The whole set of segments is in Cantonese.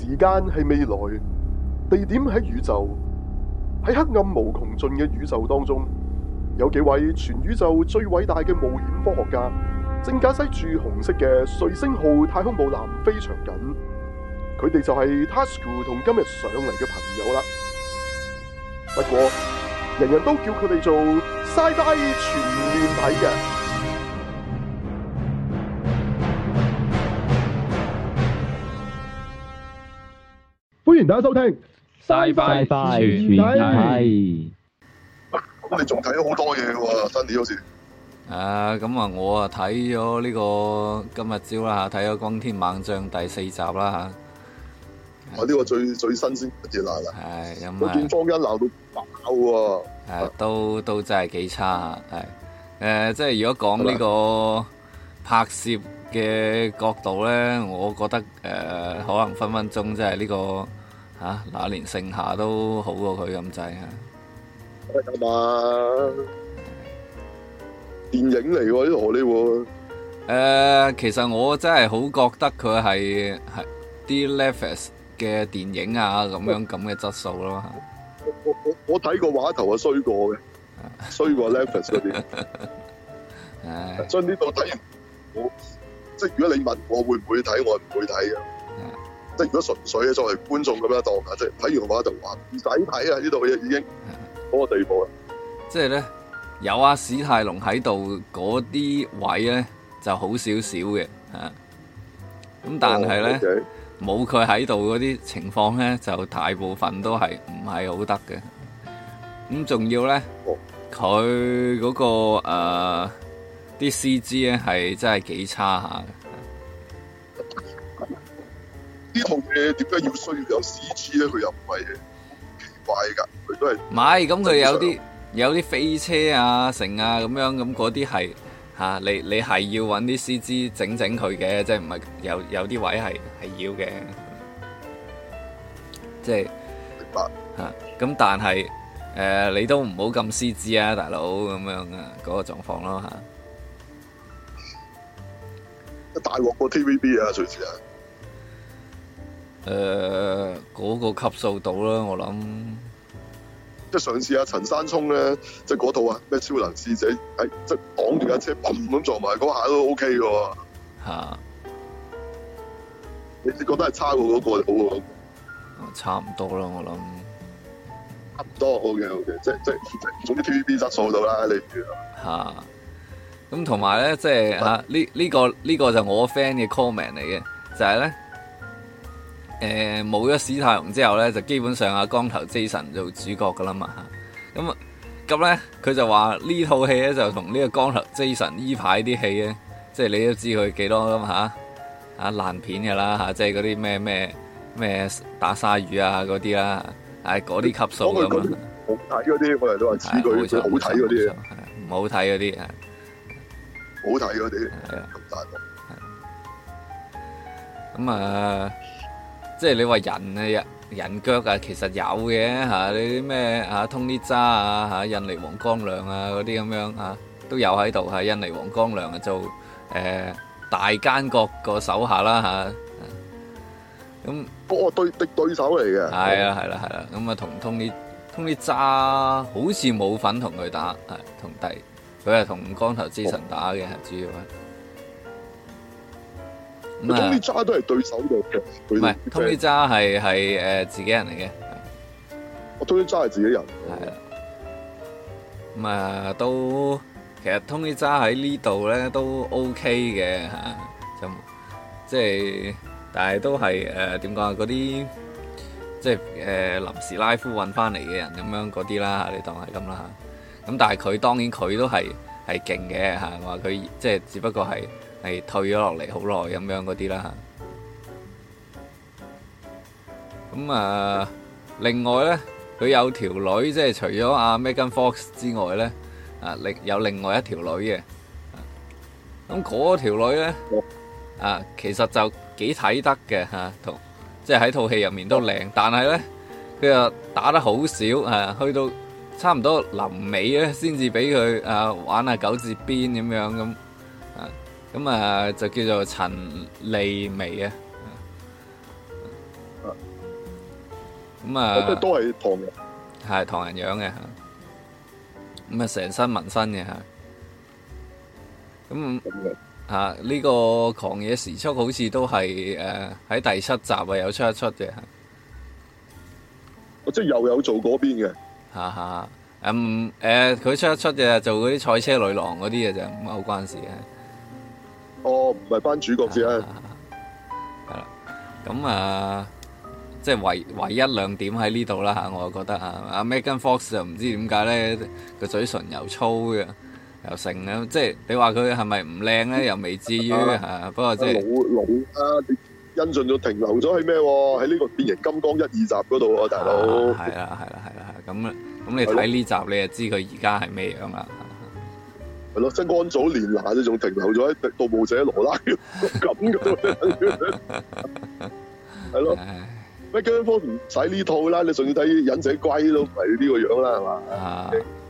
時間係未來，地點喺宇宙，喺黑暗無窮盡嘅宇宙當中，有幾位全宇宙最偉大嘅冒險科學家，正駕駛住紅色嘅瑞星號太空母艦非常緊。佢哋就係 Tasuku 同今日上嚟嘅朋友啦。不過，人人都叫佢哋做 Sci-Fi 全面睇嘅。歡迎大家收聽 Sci-Fi 全面睇。 咁你仲睇咗好多嘢喎，新年好似。 咁啊，我睇咗呢個今日朝啦嚇，睇咗《轟天猛將》第4集啦嚇。 呢個最新鮮嘅啦。 係咁我見坊間鬧到爆喎。 都真係幾差係。即係如果講呢個拍攝嘅角度咧，我覺得可能分分鐘即係呢個那年盛夏都好過佢咁滯嚇。 係嘛？電影嚟喎，呢個荷里活。 其實我真係好覺得佢係啲 Netflix 嘅電影咁嘅質素咯。 我睇過畫頭衰過嘅，衰過 Netflix 嗰啲。所以呢度睇完我，即係如果你問我會唔會睇，我唔會睇嘅。即係如果純粹作為觀眾咁樣當下，即係睇完嘅話就話唔使睇啊！呢度嘢已經嗰個地步啦。 即係咧，有史泰龍喺度嗰啲位咧就好少少嘅咁但係咧冇佢喺度嗰啲情況咧，就大部分都係唔係好得嘅。咁仲要咧，佢嗰個啲 CG 咧係真係幾差下嘅。 呢套嘢點解要需要有 CG 咧？佢又唔係奇怪㗎，佢都係唔係咁，佢有啲飛車成咁樣咁嗰啲係你係要揾啲 CG 整佢嘅，即係唔係有啲位係要嘅，即係明白咁但係你都唔好咁 CG 啊，大佬咁樣嗰個狀況咯大鑊過 TVB 啊，隨時啊！ 嗰個級數到啦，我諗。 即係上次陳山聰咧，即係嗰套咩超能使者，即係擋住架車，砰咁撞埋嗰下都 OK 嘅喎。你覺得係差過嗰個好喎？ 差唔多啦，我諗。 差唔多 OK， 即係總之 TVB 質素到啦，你咁同埋咧，即係呢個就我 friend 嘅 comment 嚟嘅，就係咧。冇咗史泰龍之後咧，就基本上光頭 Jason 做主角噶啦嘛。咁咧，佢就話呢套戲咧就同呢個光頭 Jason 依排啲戲咧，即係你都知佢幾多咁爛片噶啦即係嗰啲咩打鯊魚嗰啲啦，嗰啲級數咁啊。 好睇嗰啲，我哋都話似佢好睇嗰啲， 唔好睇嗰啲好睇嗰啲咁大即係你話人腳其實有嘅你啲咩Tony Jaa印尼黃光亮嗰啲咁樣都有喺度印尼黃光亮做大奸角個手下啦咁對手嚟嘅。 係啦咁同 Tony Jaa 好似冇份同佢打佢係同光頭 Jason 打嘅主要 Tony Jaa 都係對手嚟嘅， 唔係 Tony Jaa 係自己人嚟嘅。 Tony Jaa 係自己人。 係都其實 Tony Jaa 喺呢度咧都 OK 嘅就即係，但係都係點講嗰啲即係臨時拉夫揾翻嚟嘅人咁樣嗰啲啦你當係咁啦咁但係佢當然佢都係勁嘅話佢即係只不過係退咗落嚟好耐咁樣嗰啲啦咁另外咧佢有條女，即係除咗Megan Fox 之外咧有另外一條女嘅咁嗰條女咧其實就幾睇得嘅同即係喺套戲入面都靚，但係咧佢又打得好少去到差唔多臨尾咧先至俾佢玩下九節鞭咁樣咁就叫做陳麗薇咁啊， 都係唐人， 係唐人樣嘅嚇。咁啊，成身紋身嘅嚇。咁呢個狂野時速好似都係喺第7集啊有出一出嘅嚇。 即係又有做嗰邊嘅。 佢出一出嘅做嗰啲賽車女郎嗰啲嘅就唔係好關事嘅。 哦，唔係班主角先啊。 係啦，咁即係唯一亮點喺呢度啦嚇，我覺得阿 Megan Fox 就唔知點解咧個嘴唇又粗嘅，又成嘅，即係你話佢係咪唔靚咧？又未至於嚇，不過即係老你恩俊就停留咗喺咩喎？喺呢個變形金剛1、2集嗰度喎，大佬。 係啦，咁你睇呢集你就知佢而家係咩樣啦。 係咯，即係安祖蓮娜，你仲停留咗喺《盜墓者羅拉》咁嘅，係咯。Megan Fox 唔使呢套啦，你仲要睇《忍者龜》都唔係呢個樣啦，係嘛？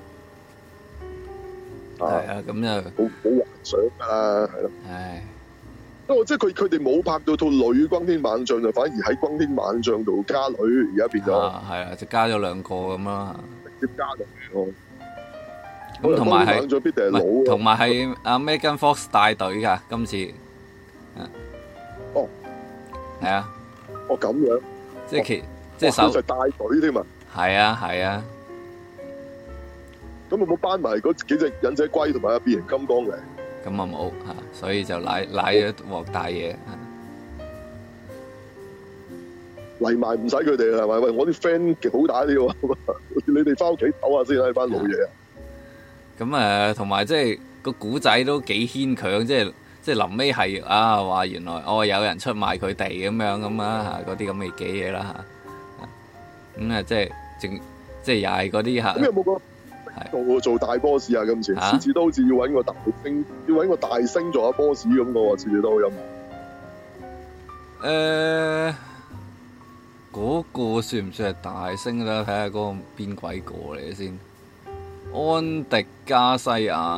係啊，咁就好幻想㗎啦，係咯。 唉， 不過即係佢哋冇拍到套女轟天猛將，就反而喺轟天猛將度加女，而家變咗。 係啊，就加咗2個咁啦。 直接加落去咯。 咁同埋係， 同埋係阿 Megan Fox 帶隊㗎，今次。 哦。 係啊。 哦，咁樣。 即係手就帶隊添啊！ 係啊， 咁有冇班埋嗰幾隻忍者龜同埋變形金剛嚟？ 咁啊冇嚇，所以就賴咗鑊大嘢。 嚟埋唔使佢哋啦，係咪？喂，我啲 friend 好打啲喎，你哋翻屋企唞下先啦，班老嘢啊！ 咁同埋即係個古仔都幾牽強，即係臨尾係話原來有人出賣佢哋咁樣咁啊嗰啲咁嘅嘅嘢啦嚇，咁即係又係嗰啲嚇。咁有冇個做大 boss 啊？今次次次都好似要揾個大星，要揾個大星做下 boss 咁嘅喎，次次都有冇？ 嗰個算唔算係大星咧？睇下嗰個邊鬼個嚟先。安迪加西亞。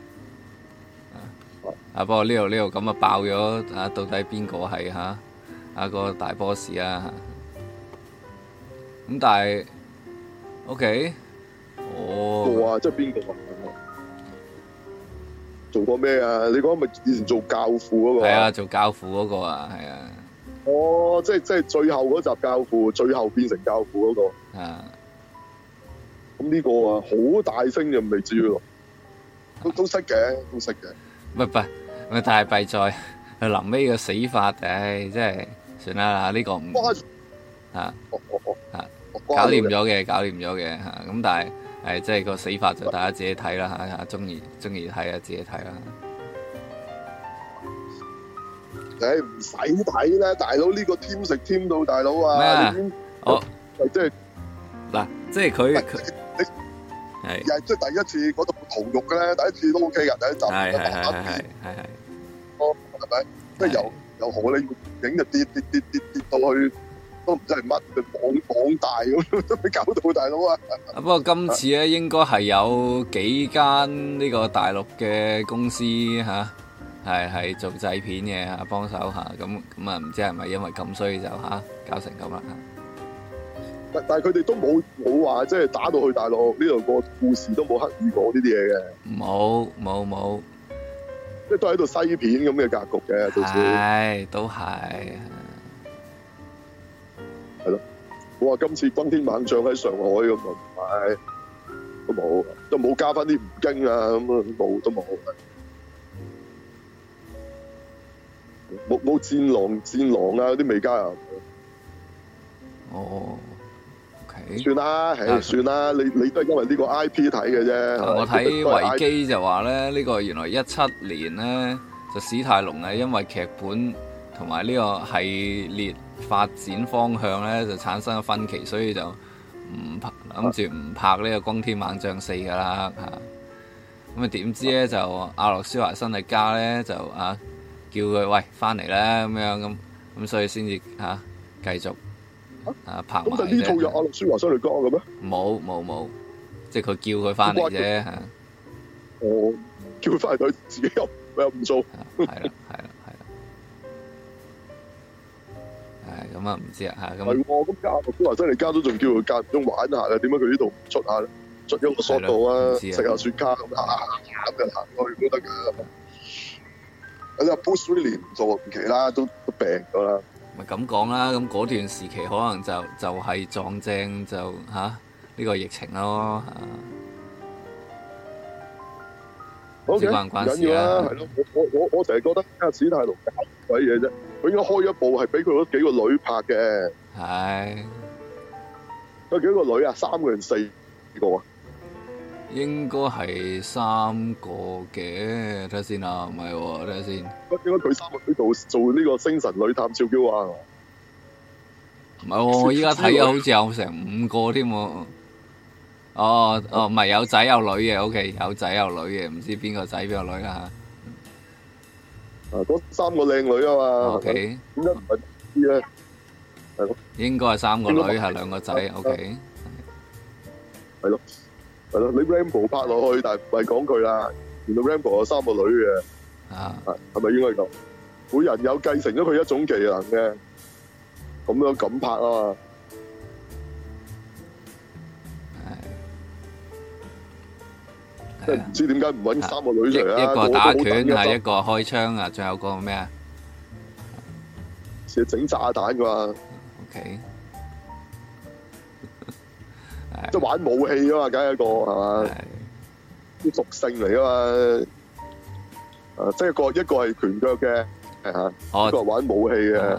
不過呢度咁啊爆咗到底邊個係個大 boss 啊？咁但係 OK， 即係邊個啊？做過咩啊？你講咪以前做教父嗰個？係啊，做教父嗰個啊，係啊。 哦，即係最後嗰集教父，最後變成教父嗰個。咁呢個啊，好大聲就未至於咯，都識嘅，都識嘅。 咪但係弊在佢臨尾嘅死法，真係算啦，呢個唔搞掂咗嘅嚇。咁但係即係個死法就大家自己睇啦嚇，中意睇啊，自己睇啦。 唔使睇啦，大佬呢個添食添到大佬啊！ 咩啊？ 即係嗱，即係佢係即係第一次嗰度屠肉嘅咧，第一次都 OK 㗎，第一集係。 係咪？即係由荷里活影就跌到去，都唔知係乜，網大咁，都未搞到大佬啊！ 不過今次咧，應該係有幾間呢個大陸嘅公司係做製片嘅嚇，幫手嚇，咁啊唔知係咪因為咁，所以就搞成咁啦嚇。 但係佢哋都冇話即係打到去大陸呢度個故事都冇刻意講呢啲嘢嘅。 冇。 即係都喺度西片咁嘅格局嘅，到時係都係咯。我話今次轟天猛將喺上海咁啊，都冇加翻啲吳京啊咁啊，都冇戰狼啊嗰啲未加啊。 哦，OK， 算啦，算啦，你都係因為呢個 IP 睇嘅啫。 我睇維基就話咧，呢個原來17年咧就史泰龍係因為劇本同埋呢個系列發展方向咧就產生咗分歧，所以就諗住唔拍呢個轟天猛將4噶啦嚇。咁啊點知咧就阿諾舒華辛力加咧就叫佢喂翻嚟啦咁樣咁所以先至繼續拍埋啫。咁就呢套有阿諾舒華辛力加嘅咩？ 冇，即係佢叫佢翻嚟啫嚇。 哦，叫佢翻嚟佢自己又唔做。 係啦。 咁啊唔知啊嚇咁。 係喎，咁加都話真係加都仲叫佢間唔中玩下嘅，點解佢呢度唔出下咧？出一個 shot 度啊，食下雪茄咁行嘅行去都得㗎。有啲 Bruce Willis 唔做唔奇啦，都病咗啦。 咪咁講啦，咁嗰段時期可能就係撞正就呢個疫情咯嚇。 唔緊要啦，係咯，我成日覺得阿史泰龍搞鬼嘢啫，佢應該開一部係俾佢嗰幾個女拍嘅。 係。 有幾個女啊？3個定4個啊？ 應該係3個嘅，睇下先啊，唔係喎，睇下先。 應該佢3個女做呢個星神女探照嬌啊？ 唔係喎，我依家睇啊，好似有成5個添喎。唔係有仔有女嘅 ，OK， 有仔有女嘅，唔知邊個仔邊個女啦嚇。 嗰3個靚女啊嘛。 OK。 點解唔係啲咧？係咯。 應該係3個女，係2個仔 ，OK。 係咯。係咯，你 Rambo 拍落去，但係唔係講佢啦。原來 Rambo 有3個女嘅。係咪應該咁？每人有繼承咗佢一種技能嘅，咁樣咁拍啊嘛。即係唔知點解唔揾3個女出嚟啊？ 一個打拳係，一個開槍啊，仲有個咩啊？ 成日整炸彈㗎嘛。 OK。 即係玩武器啊嘛，梗係一個係嘛？啲屬性嚟啊嘛。即係一個係拳腳嘅，一個係玩武器嘅。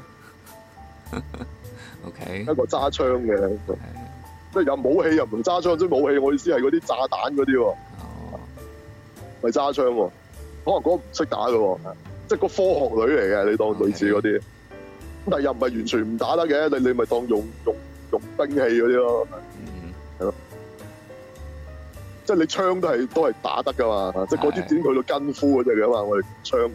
OK。 一個揸槍嘅。即係有武器又唔揸槍，即係武器我意思係嗰啲炸彈嗰啲喎。咪揸槍喎，可能嗰個唔識打嘅喎，即係個科學女嚟嘅，你當類似嗰啲。咁但係又唔係完全唔打得嘅，你咪當用兵器嗰啲咯。係咯。即係你槍都係打得噶嘛，即係嗰啲點去到筋夫嗰隻嘅嘛，我哋槍。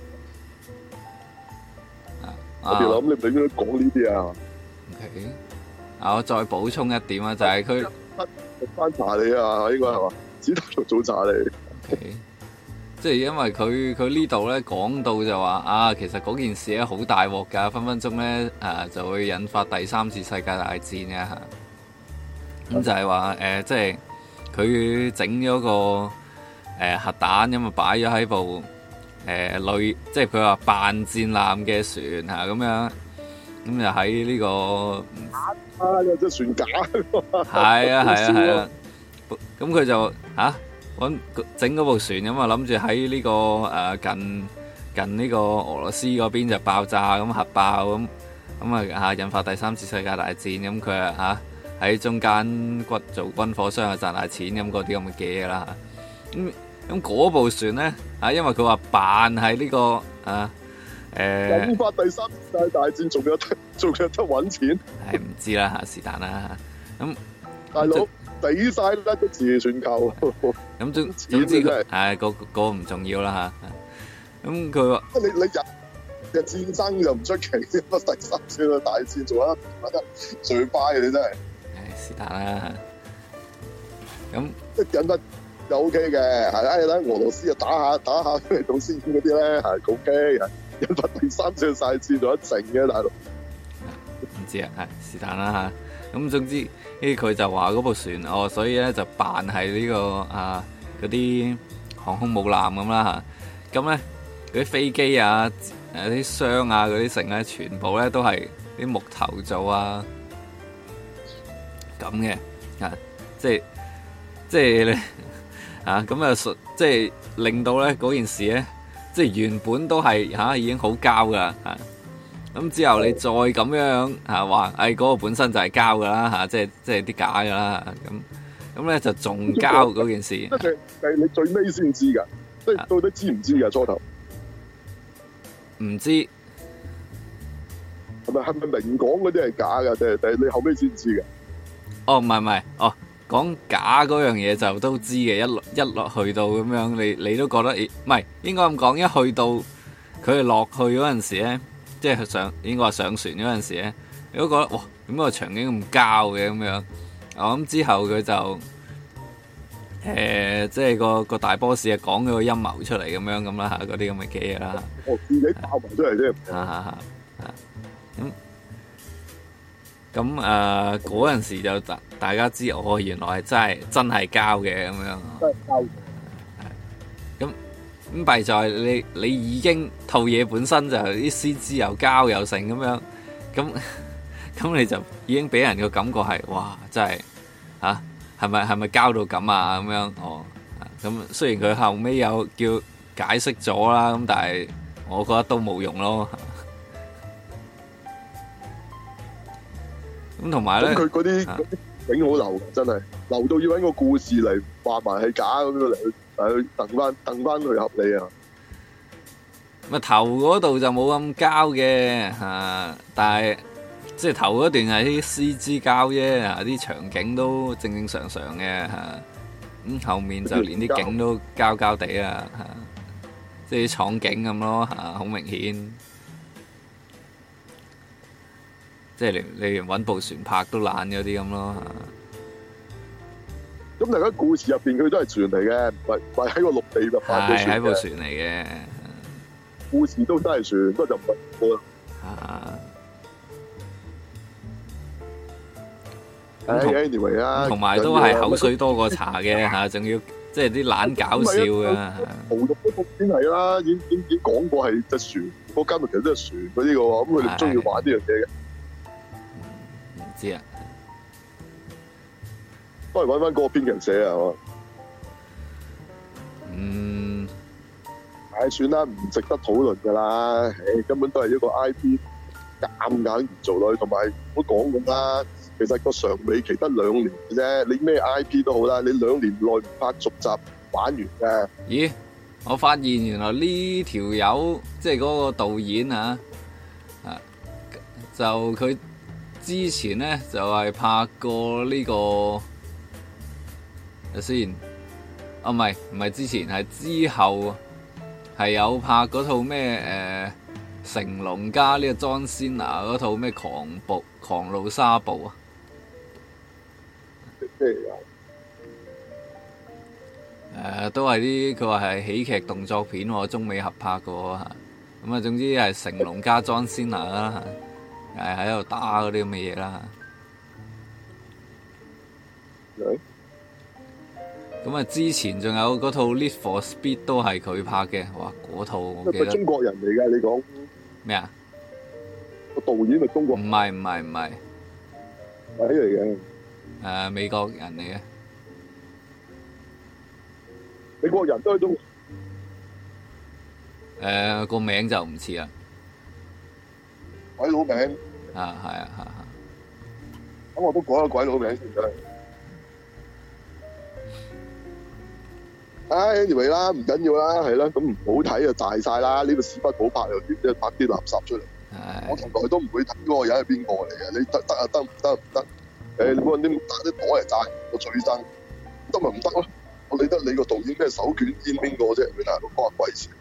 我哋諗你唔應該講呢啲啊。 OK。我再補充一點啊，就係佢翻查你啊，應該係嘛？史泰龍早查你。 OK。即係因為佢呢度咧講到就話其實嗰件事咧好大鑊㗎，分分鐘咧就會引發第3次世界大戰嘅嚇。咁就係話即係佢整咗個核彈咁啊，擺咗喺部即係佢話扮戰艦嘅船咁樣，咁就喺呢個有隻船假係啊，咁佢就整嗰部船咁啊，諗住喺呢個近呢個俄羅斯嗰邊就爆炸咁核爆咁引發第3次世界大戰，咁佢喺中間做軍火商啊賺大錢咁嗰啲咁嘅嘢啦。咁嗰部船咧因為佢話扮係呢個引發第3次世界大戰，仲有得揾錢？ 係唔知啦是但啦。咁大佬死晒啦，都自全球。 咁總之嗰個唔重要啦嚇。咁佢話你日戰爭又唔出奇，第3次大戰做得最快嘅，你真係。 是但啦。咁即引得又 OK 嘅，係啦，俄羅斯就打下嚟到先嗰啲咧，係 OK。引發第3次大戰做得靜嘅，大佬。 唔知啊，是但啦嚇。咁總之佢就話嗰部船所以咧就扮係呢個嗰啲航空母艦咁啦嚇。咁咧嗰啲飛機啲箱嗰啲成咧，全部咧都係啲木頭做咁嘅即係咧咁即係令到咧嗰件事咧，即係原本都係已經好膠噶啦咁之後你再咁樣話嗰個本身就係膠噶啦即係啲假噶啦咁咧就仲膠嗰件事。 係你最尾先知噶，即係到底知唔知噶初頭？ 唔知係咪明講嗰啲係假噶？定係你後尾先知嘅？ 唔係講假嗰樣嘢就都知嘅，一落去到咁樣，你都覺得唔係應該咁講，一去到佢哋落去嗰陣時咧，即係應該話上船嗰陣時咧，你都覺得哇，點解個場景咁膠嘅咁樣？咁之後佢就即係個大 boss 講咗個陰謀出嚟咁啦嗰啲咁嘅嘢啦。 自己爆埋出嚟啫。 咁嗰陣時就大家知原來係真係膠嘅咁樣。 真係膠。 咁弊在你已經套嘢本身就啲 CG 又膠又成咁樣，咁你就已經俾人個感覺係哇真係嚇係咪膠到咁啊咁樣哦。咁雖然佢後尾有叫解釋咗啦，咁但係我覺得都冇用咯。咁同埋咧， 佢嗰啲景好流，真係流到要揾個故事嚟話埋係假咁樣嚟去掟翻去合理啊！ 咪頭嗰度就冇咁膠嘅但係即係頭嗰段係啲 CG 膠啫，啲場景都正正常常嘅咁後面就連啲景都膠膠地啊即係啲廠景咁咯好明顯。即係你揾部船拍都爛嗰啲咁咯咁大家故事入邊佢都係船嚟嘅，唔係喺個陸地度拍嘅船嘅。 係喺部船嚟嘅， 故事都真係船，不過就唔係我anyway 啊， 同埋都係口水多過茶嘅仲要即係啲懶搞笑嘅。 豪毒嗰部先係啦，已經講過係隻船，嗰間其實都係船嗰啲嘅喎，咁佢哋中意玩呢樣嘢嘅。 唔知啊， 都係揾翻嗰個編劇寫啊，係嘛？算啦，唔值得討論㗎啦。根本都係一個 IP 夾硬做落去，同埋唔好講咁啦。其實個長尾期得2年嘅啫，你咩 IP 都好啦，你2年內唔拍續集玩完嘅。 咦？我發現原來呢條友即係嗰個導演就佢之前咧就係拍過呢個睇先，唔係之前係之後係有拍嗰套咩成龍加呢個 John Cena 嗰套咩狂怒沙暴啊？都係啲佢話係喜劇動作片喎，中美合拍嘅喎嚇。咁總之係成龍加 John Cena 啦，係喺度打嗰啲咁嘅嘢啦。咁之前仲有嗰套 Need for Speed 都係佢拍嘅，哇！嗰套我記得。 中國人嚟㗎，你講咩啊？ 個導演係中國人？ 唔係， 鬼嚟嘅。 美國人嚟嘅。 美國人都係中國。 個名就唔似啦。 鬼佬名。 係啊。 咁我都講個鬼佬名先得。anyway 啦，唔緊要啦，係啦，咁唔好睇就大晒啦。呢個屎忽好拍又點啫？拍啲垃圾出嚟。我從來都唔會睇嗰個人係邊個嚟嘅。你得啊？得唔得？你冇人啲打啲袋嚟炸我最憎，得咪唔得咯？我理得你個導演咩手捲煙邊個啫？你大佬關鬼事。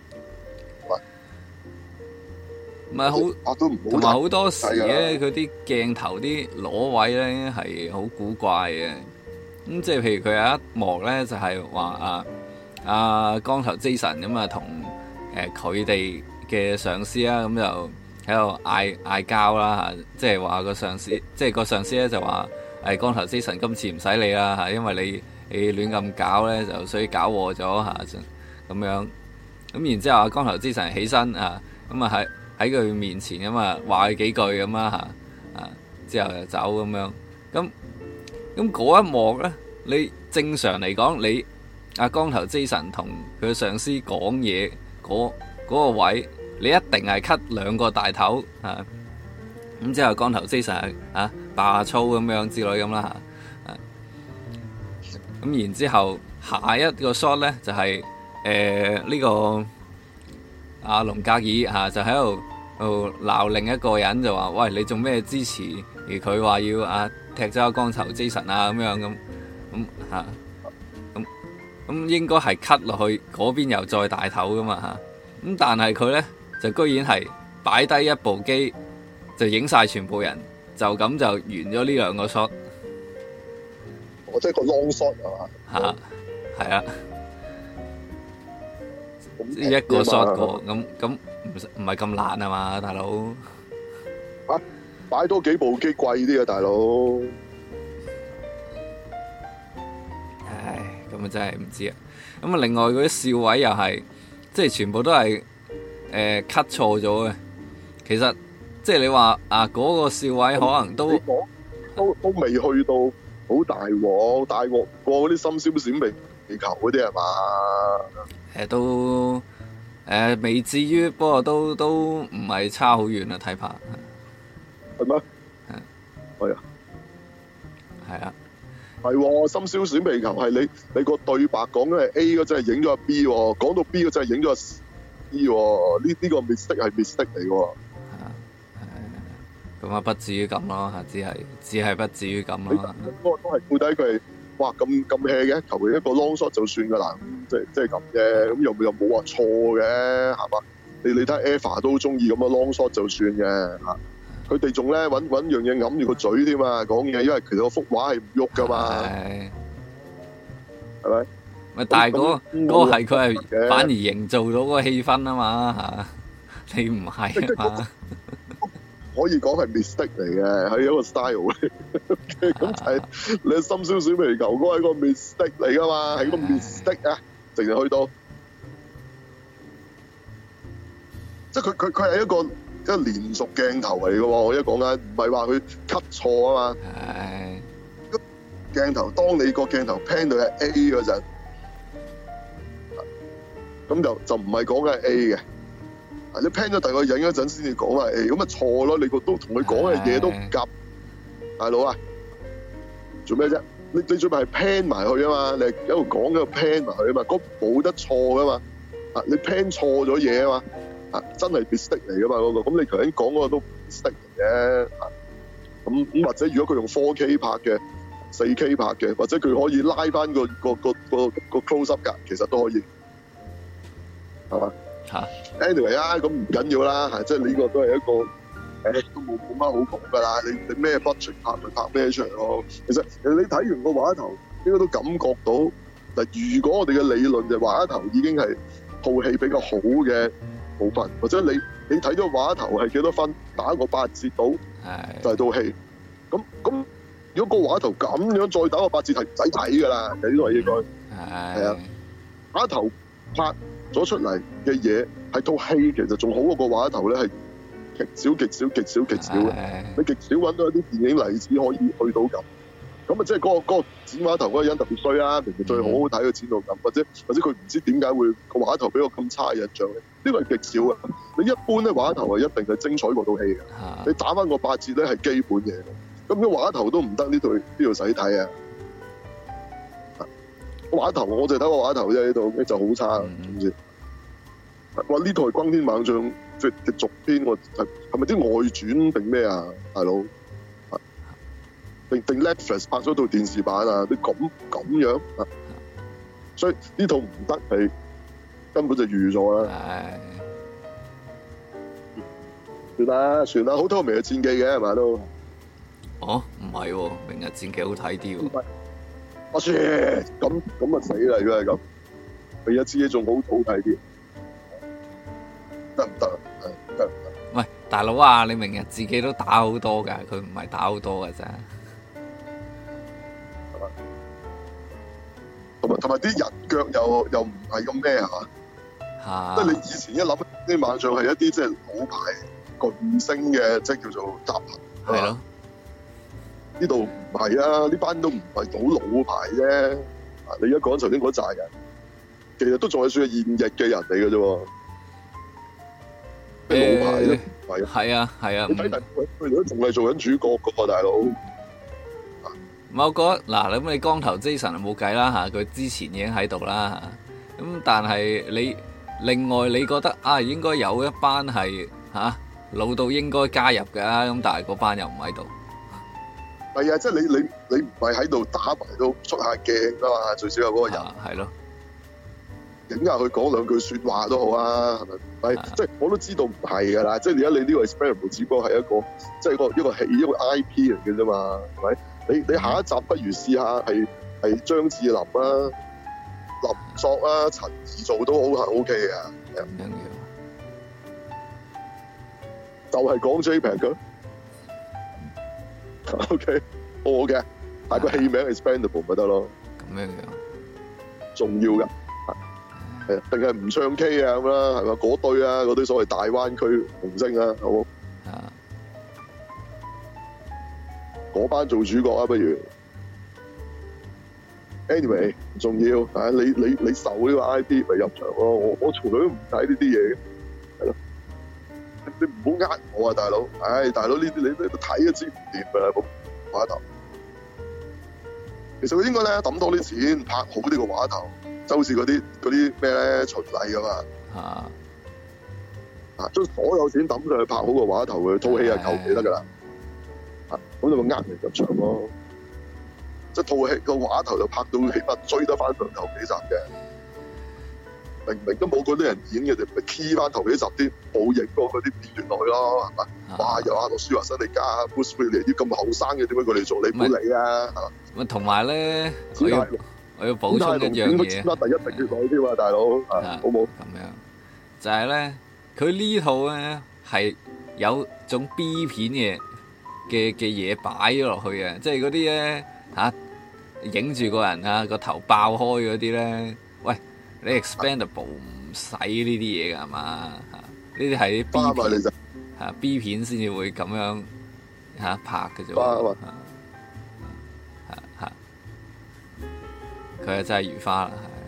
唔係好，同埋好多時咧，佢啲鏡頭啲攞位咧係好古怪嘅。咁即係譬如佢有一幕咧，就係話光頭 Jason 咁啊，同佢哋嘅上司啊，咁就喺度嗌交啦嚇，即係話個上司，即係個上司咧就話光頭 Jason 今次唔使理啦嚇，因為你亂咁搞咧，就所以搞禍咗嚇咁樣。咁然之後光頭 Jason 起身啊，咁啊喺佢面前咁啊話佢幾句咁啦嚇，之後就走咁樣。咁嗰一幕咧，你正常嚟講，你光頭 Jason 同佢上司講嘢嗰個位，你一定係 cut 2個大頭嚇。咁之後光頭 Jason 爆粗咁樣之類咁啦嚇。咁然之後下一個 shot 咧就係呢個阿龍格爾就喺度鬧另一個人，就話：喂，你做咩支持？而佢話要踢走光頭 Jason 咁樣咁應該係 cut 落去嗰邊又再大頭噶嘛嚇。咁但係佢咧就居然係擺低一部機就影晒全部人，就咁就完咗呢2個 shot。 我即係個 long shot 係嘛？ 係啊，一個 shot 過咁唔係咁難啊嘛，大佬。 擺多幾部機貴啲啊，大佬。 唉，咁啊真係唔知啊。咁啊，另外嗰啲笑位又係，即係全部都係cut 錯咗嘅。其實即係你話啊，嗰個笑位可能都未去到好大鑊，大鑊過嗰啲深宵閃避球嗰啲係嘛？ 都未至於，不過都唔係差好遠啊，睇怕係咩？係啊， 係啊， 係喎，深宵閃避球係你個對白講緊係 A 嗰陣係影咗阿 B 喎，講到 B 嗰陣係影咗阿 C 喎，呢個 mistake 係 mistake 嚟喎。 咁啊，不至於咁咯，只係不至於咁咯。 嗰個都係到底佢係哇咁 hea 嘅，求其一個 long shot 就算㗎啦，即係咁啫。咁又冇話錯嘅，係嘛？你睇 Eva 都中意咁嘅 long shot 就算嘅嚇。佢哋仲咧揾樣嘢揞住個嘴添嘛，講嘢，因為其實個幅畫係唔喐㗎嘛，係咪？ 咪但係嗰個係佢係反而營造到嗰個氣氛啊嘛嚇，你唔係啊嘛。 可以講係 mistake 嚟嘅，係一個 style 嚟。咁就係你深宵閃避球嗰個係個 mistake 嚟噶嘛，係個 mistake 啊，直情去到，即係佢係一個連續鏡頭嚟嘅喎。我一講緊唔係話佢 cut 錯啊嘛。係。鏡頭，當你個鏡頭 pan 到係 A 嗰陣，咁就唔係講緊係 A 嘅。你 plan 咗第二個影嗰陣先至講啊，咁咪錯咯！你個都同佢講嘅嘢都唔夾，大佬啊，做咩啫？你最尾係 plan 埋去啊嘛，你一路講一路 plan 埋去啊嘛，嗰冇得錯噶嘛，你 plan 錯咗嘢啊嘛，真係 mistake 嚟噶嘛嗰個，咁你頭先講嗰個都 mistake 嚟嘅，咁或者如果佢用 4K 拍嘅、4K 拍嘅，或者佢可以拉翻個 close up 㗎，其實都可以，係嘛？anyway 啊，咁唔緊要啦，即係呢個都係一個都冇乜好講㗎啦。你咩 budget 拍咪拍咩出嚟咯。其實你睇完個畫頭，應該都感覺到嗱。如果我哋嘅理論就畫頭已經係套戲比較好嘅部分，或者你睇咗畫頭係幾多分，打個8折到就係套戲。咁如果個畫頭咁樣再打個8折係唔使睇㗎啦，呢個應該係啊畫頭拍咗出嚟嘅嘢係套戲，其實仲好過個畫頭咧，係極少嘅。你極少揾到一啲電影例子可以去到咁啊，即係嗰個剪畫頭嗰個人特別衰啦，明明最好好睇嘅剪到咁，或者佢唔知點解會個畫頭俾我咁差嘅印象咧？呢個係極少嘅。你一般咧畫頭係一定係精彩過套戲嘅。你打翻個8折咧係基本嘢。咁如果畫頭都唔得，呢度使睇啊！畫頭我就睇個畫頭啫，呢度就好差，知唔知？哇！呢套係《轟天猛將》嘅續篇，我係咪啲外傳定咩啊，大佬？定 Netflix 拍咗套電視版啊？你咁樣啊？所以呢套唔得係根本就預咗啦。算啦，好睇過《明日戰記》嘅係咪都？ 哦，唔係喎，《明日戰記》好睇啲喎。 我切，咁啊死啦！如果係咁，《明日戰記》仲好睇啲。得唔得？得唔得？ 喂，大佬啊，你明日自己都打好多㗎，佢唔係打好多㗎咋。 同埋啲人腳又唔係咁咩係嘛？即係你以前一諗啲猛將係一啲即係老牌巨星嘅，即係叫做集合。係咯。呢度唔係啊，呢班都唔係好老牌啫。你而家講頭先嗰扎人，其實都仲係算係現役嘅人嚟嘅啫喎。老牌咧， 係啊， 你睇佢哋都仲係做緊主角噶喎，大佬。 我覺得嗱，咁你光頭 Jason 冇計啦嚇，佢之前已經喺度啦嚇。咁但係你另外你覺得啊，應該有一班係嚇老到應該加入嘅，咁但係嗰班又唔喺度。 係啊，即係你唔係喺度打埋都出下鏡噶嘛，最少有嗰個人。 係咯。 影下佢講兩句説話都好啊，係咪？即係我都知道唔係㗎啦，即係而家你呢個 Experiment 只不過係一個即係一個戲一個 IP 嚟嘅啫嘛，係咪？你下一集不如試下係張智霖啊、林作啊、陳怡做都好係 OK 嘅，唔緊要。就係講 JPEG 㗎。 OK， 我嘅，但係個戲名 Expendable 咪得咯， 咁樣樣重要㗎。係定係唔唱 K 啊咁啦，係嘛？嗰堆啊，嗰堆所謂大灣區明星啊，好冇？ 啊， 嗰班做主角啊，不如。Anyway， 唔重要啊！你受呢個 IP 咪入場咯。我從來都唔睇呢啲嘢嘅，係咯。你唔好呃我啊，大佬！唉，大佬呢啲你都睇都知唔掂㗎啦，個畫頭。其實佢應該咧抌多啲錢拍好呢個畫頭。就好似嗰啲咩咧循例㗎嘛，將所有錢抌上去拍好個畫頭，佢套戲係求其得㗎啦，咁就咪呃人入場咯。即係套戲個畫頭就拍到起碼追得翻上頭幾集嘅，明明都冇嗰啲人演嘅，就咪 key 翻頭幾集啲冇影過嗰啲片段落去咯，係嘛？哇！有阿諾舒華辛力加、Bruce Willis 啲咁後生嘅，點解佢哋做？你唔好理啊！ 咁同埋咧，我要補充一樣嘢， 第一定要講添啊，大佬，好冇？ 咁樣就係咧，佢呢套咧係有種 B 片嘅嘢擺咗落去嘅，即係嗰啲咧影住個人啊個頭爆開嗰啲咧，喂，你 Expendable 唔使呢啲嘢㗎係嘛？呢啲係啲 B 片B 片先至會咁樣拍嘅啫。佢係真係如花啦，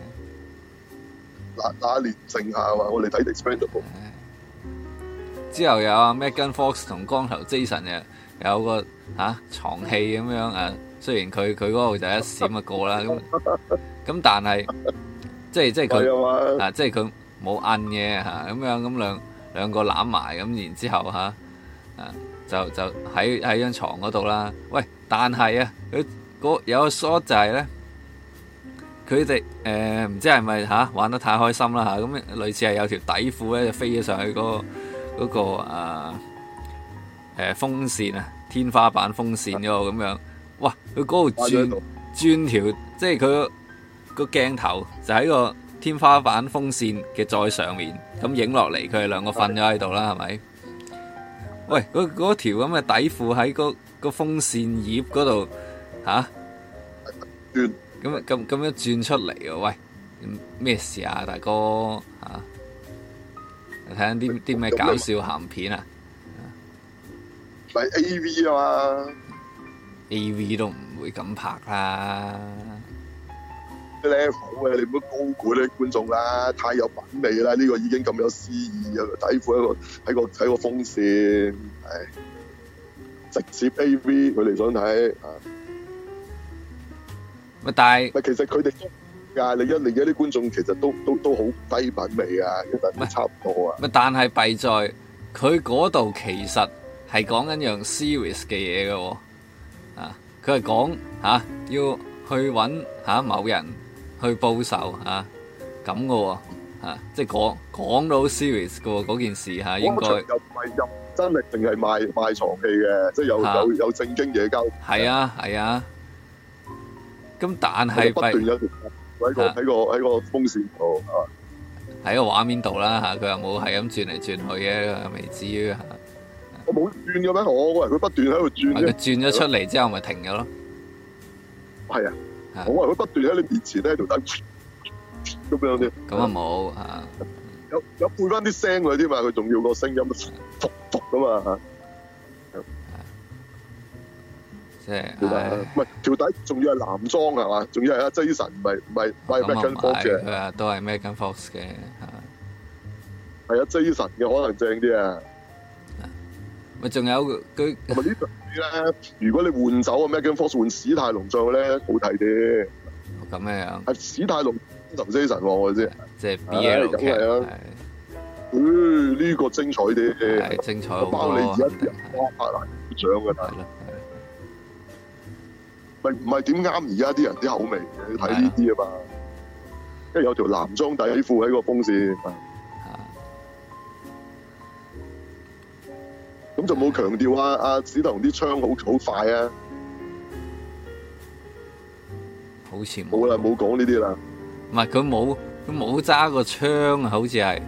係那年盛夏嘛，我哋睇 Expendable。 之後有阿 Megan Fox 同光頭 Jason 有個床戲咁樣啊，雖然佢嗰度就一閃就過啦，咁但係即係佢即係佢冇摁嘅咁樣，咁兩個攬埋咁，然之後就喺張床嗰度啦。喂，但係佢有個 shot 就係咧。佢哋唔知係咪玩得太開心啦嚇，咁類似係有條底褲咧就飛咗上去嗰個風扇啊，天花板風扇嗰度咁樣，哇！佢嗰度轉條，即係佢個鏡頭就喺個天花板風扇嘅再上面，咁影落嚟佢哋兩個瞓咗喺度啦，係咪？喂，嗰條咁嘅底褲喺個風扇葉嗰度咁樣轉出嚟喎，喂，咩事啊，大哥睇緊啲咩搞笑鹹片啊？ 咪 AV 啊嘛 ，AV 都唔會咁拍啦。 level 嘅，你唔好高估啲觀眾啦，太有品味啦，呢個已經咁有詩意啊！底褲喺個風扇，直接 AV 佢哋想睇但係其實佢哋你而家啲觀眾其實都好低品味啊，其實差唔多啊。 但係弊在佢嗰度其實係講緊樣 serious 嘅嘢嘅喎，佢係講要去揾某人去報仇咁嘅喎，即係講到 serious 嘅喎嗰件事應該又唔係真係淨係賣床戲嘅，即係有正經嘢交。 係啊。咁但係不斷有條喺個風扇度喺個畫面度啦佢又冇係咁轉嚟轉去嘅，未至於我冇轉嘅咩？我以為佢不斷喺度轉嘅。 佢轉咗出嚟之後咪停咗咯。 係我以為佢不斷喺你面前咧喺度等咁樣啲。 咁啊冇有配翻啲聲佢添嘛？佢仲要個聲音復咁嘛即係唔係條底，仲要係男裝係嘛？仲要係阿 Jason，唔係 Megan Fox 嘅。 佢話都係 Megan Fox 嘅係啊 Jason 嘅可能正啲啊。 咪仲有佢同埋呢度咧，如果你換走啊 Megan Fox 換史泰龍上去咧，好睇啲。 咁樣係史泰龍同 Jason 我知。 即係 BL 劇呢個精彩啲。 係精彩好多。 包你而家啲人拍爛掌㗎啦。唔係點啱而家啲人啲口味嘅？你睇呢啲啊嘛，因為有條男裝底褲喺個風扇，咁就冇強調阿史泰龍啲槍好快啊， 好似冇啦，冇講呢啲啦。 唔係佢冇揸個槍啊，好似係，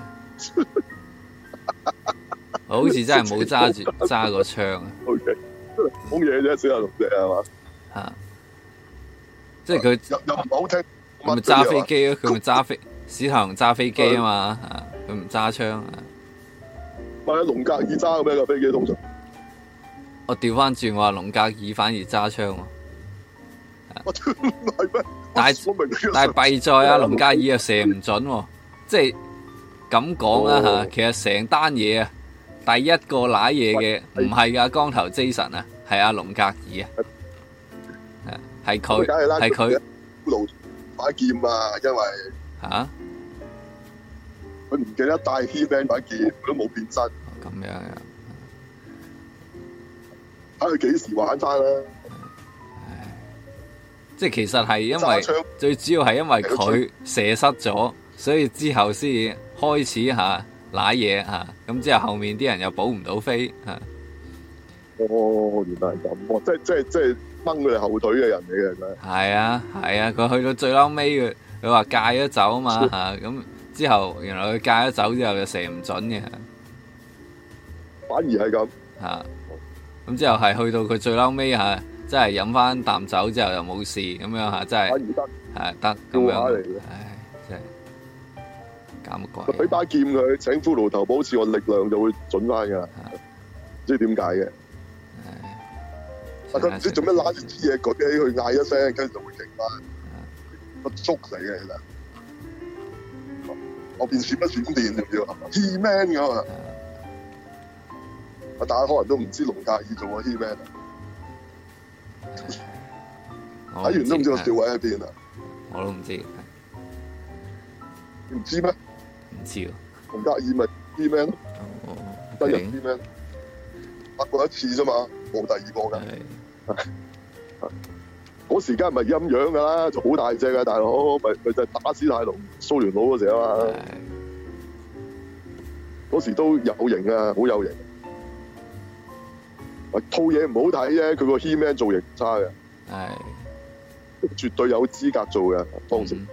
好似真係冇揸個槍啊。 OK。 講嘢啫，小龍隻係嘛？ 嚇，即係佢又唔係好聽。 佢咪揸飛機咯？佢咪揸飛史泰龍揸飛機啊嘛嚇，佢唔揸槍啊。 咪龍格爾揸嘅咩個飛機通常？ 我調翻轉，我話龍格爾反而揸槍喎。 我唔係咩？ 但係弊在啊，龍格爾又射唔準喎，即係咁講啦嚇。其實成單嘢啊，第一個瀨嘢嘅唔係㗎光頭 Jason 啊，係阿龍格爾啊，係佢係佢路把劍啊，因為嚇佢唔記得帶 He-Man 把劍，佢都冇變身。 咁樣啊， 睇佢幾時玩翻啦？ 即係其實係因為最主要係因為佢射失咗，所以之後先開始嚇瀨嘢嚇，咁之後後面啲人又補唔到飛嚇。 哦，原來係咁喎，即係掹佢哋後腿嘅人嚟嘅，真係。 係啊係啊，佢去到最嬲尾佢話戒咗走啊嘛嚇，咁之後原來佢戒咗走之後就射唔準嘅， 反而係咁嚇。咁之後係去到佢最嬲尾嚇。真係飲翻啖酒之後又冇事咁樣嚇，真係係得咁樣。唉，真係搞乜鬼？ 俾把劍佢，請骷髏頭保持個力量就會準翻㗎啦。唔知點解嘅。佢唔知做咩拉啲嘢舉起佢嗌一聲，跟住就會勁翻。個捉嚟嘅其實。我變閃一閃電仲要 He-Man 㗎嘛。大家可能都唔知龍格爾做過 He-Man。睇完都唔知個笑位喺邊啊！ 我都唔知， 唔知咩？ 唔知喎。 龍格爾咪 He-Man 咯，真人 He-Man，拍過一次啫嘛，冇第二個㗎。嗰時間咪陰陽㗎啦，就好大隻㗎大佬，咪就係打史泰龍蘇聯佬嗰時啊嘛。嗰時都有型啊，好有型。套嘢唔好睇啫，佢個 He-Man 造型唔差嘅，係絕對有資格做嘅當時。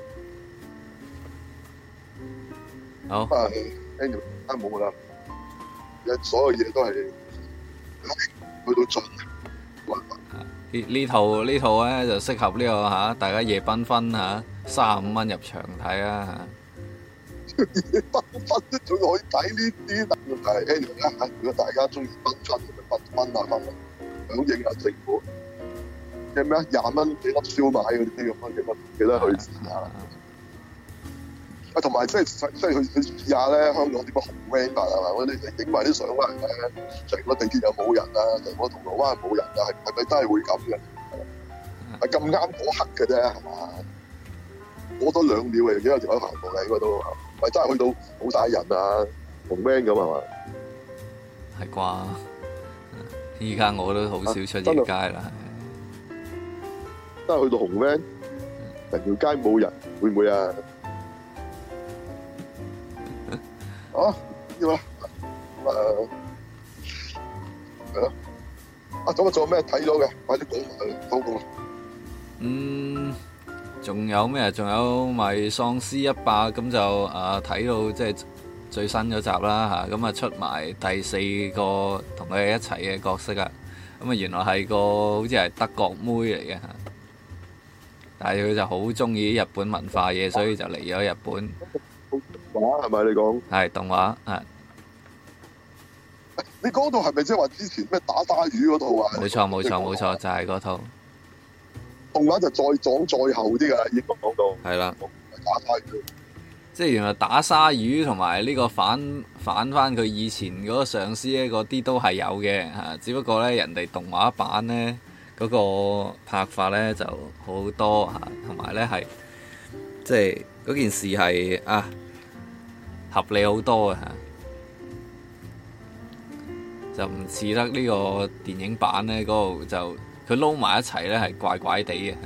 好 ，anyway 冇啦，所有嘢都係去到盡。 呢套咧就適合呢個嚇大家夜繽紛嚇，35蚊入場睇啊！ 夜繽紛仲可以睇呢啲，但係 anyway 啦，如果大家中意繽紛，咪繽紛下響應下政府嘅咩20蚊幾粒燒賣嗰啲咁樣，記得去試下。同埋即係去試下咧，香港點解紅 van 法係嘛？我哋影埋啲相翻嚟咧，成個地鐵又冇人啊，成個銅鑼灣冇人啊，係咪真係會咁嘅？係咁啱嗰刻嘅啫，係嘛？過多2秒嘅，已經有條友行過嘅，應該都唔係真係去到冇晒人啊，紅 van 咁係嘛？ 係啩？依家我都好少出夜街啦， 真係去到紅 van，成條街冇人，會唔會啊？啊，要啦，係咯，咁仲有咩睇咗嘅？快啲講埋講。 仲有咩？仲有咪喪屍100咁就睇到即係最新嗰集啦嚇，咁啊出埋第4個同佢哋一齊嘅角色啊，咁啊原來係個好似係德國妹嚟嘅嚇，但係佢就好中意日本文化嘢，所以就嚟咗日本。 動畫係咪你講？ 係動畫係。 你嗰套係咪即係話之前咩打鯊魚嗰套啊？ 冇錯，就係嗰套。 動畫就再講再後啲㗎，已經講到。 係啦。 打鯊魚。 即係原來打鯊魚同埋呢個反翻佢以前嗰個上司咧，嗰啲都係有嘅嚇，只不過咧人哋動畫版咧嗰個拍法咧就好多嚇，同埋咧係即係嗰件事係合理好多嘅嚇，就唔似得呢個電影版咧嗰度就佢撈埋一齊咧係怪怪地嘅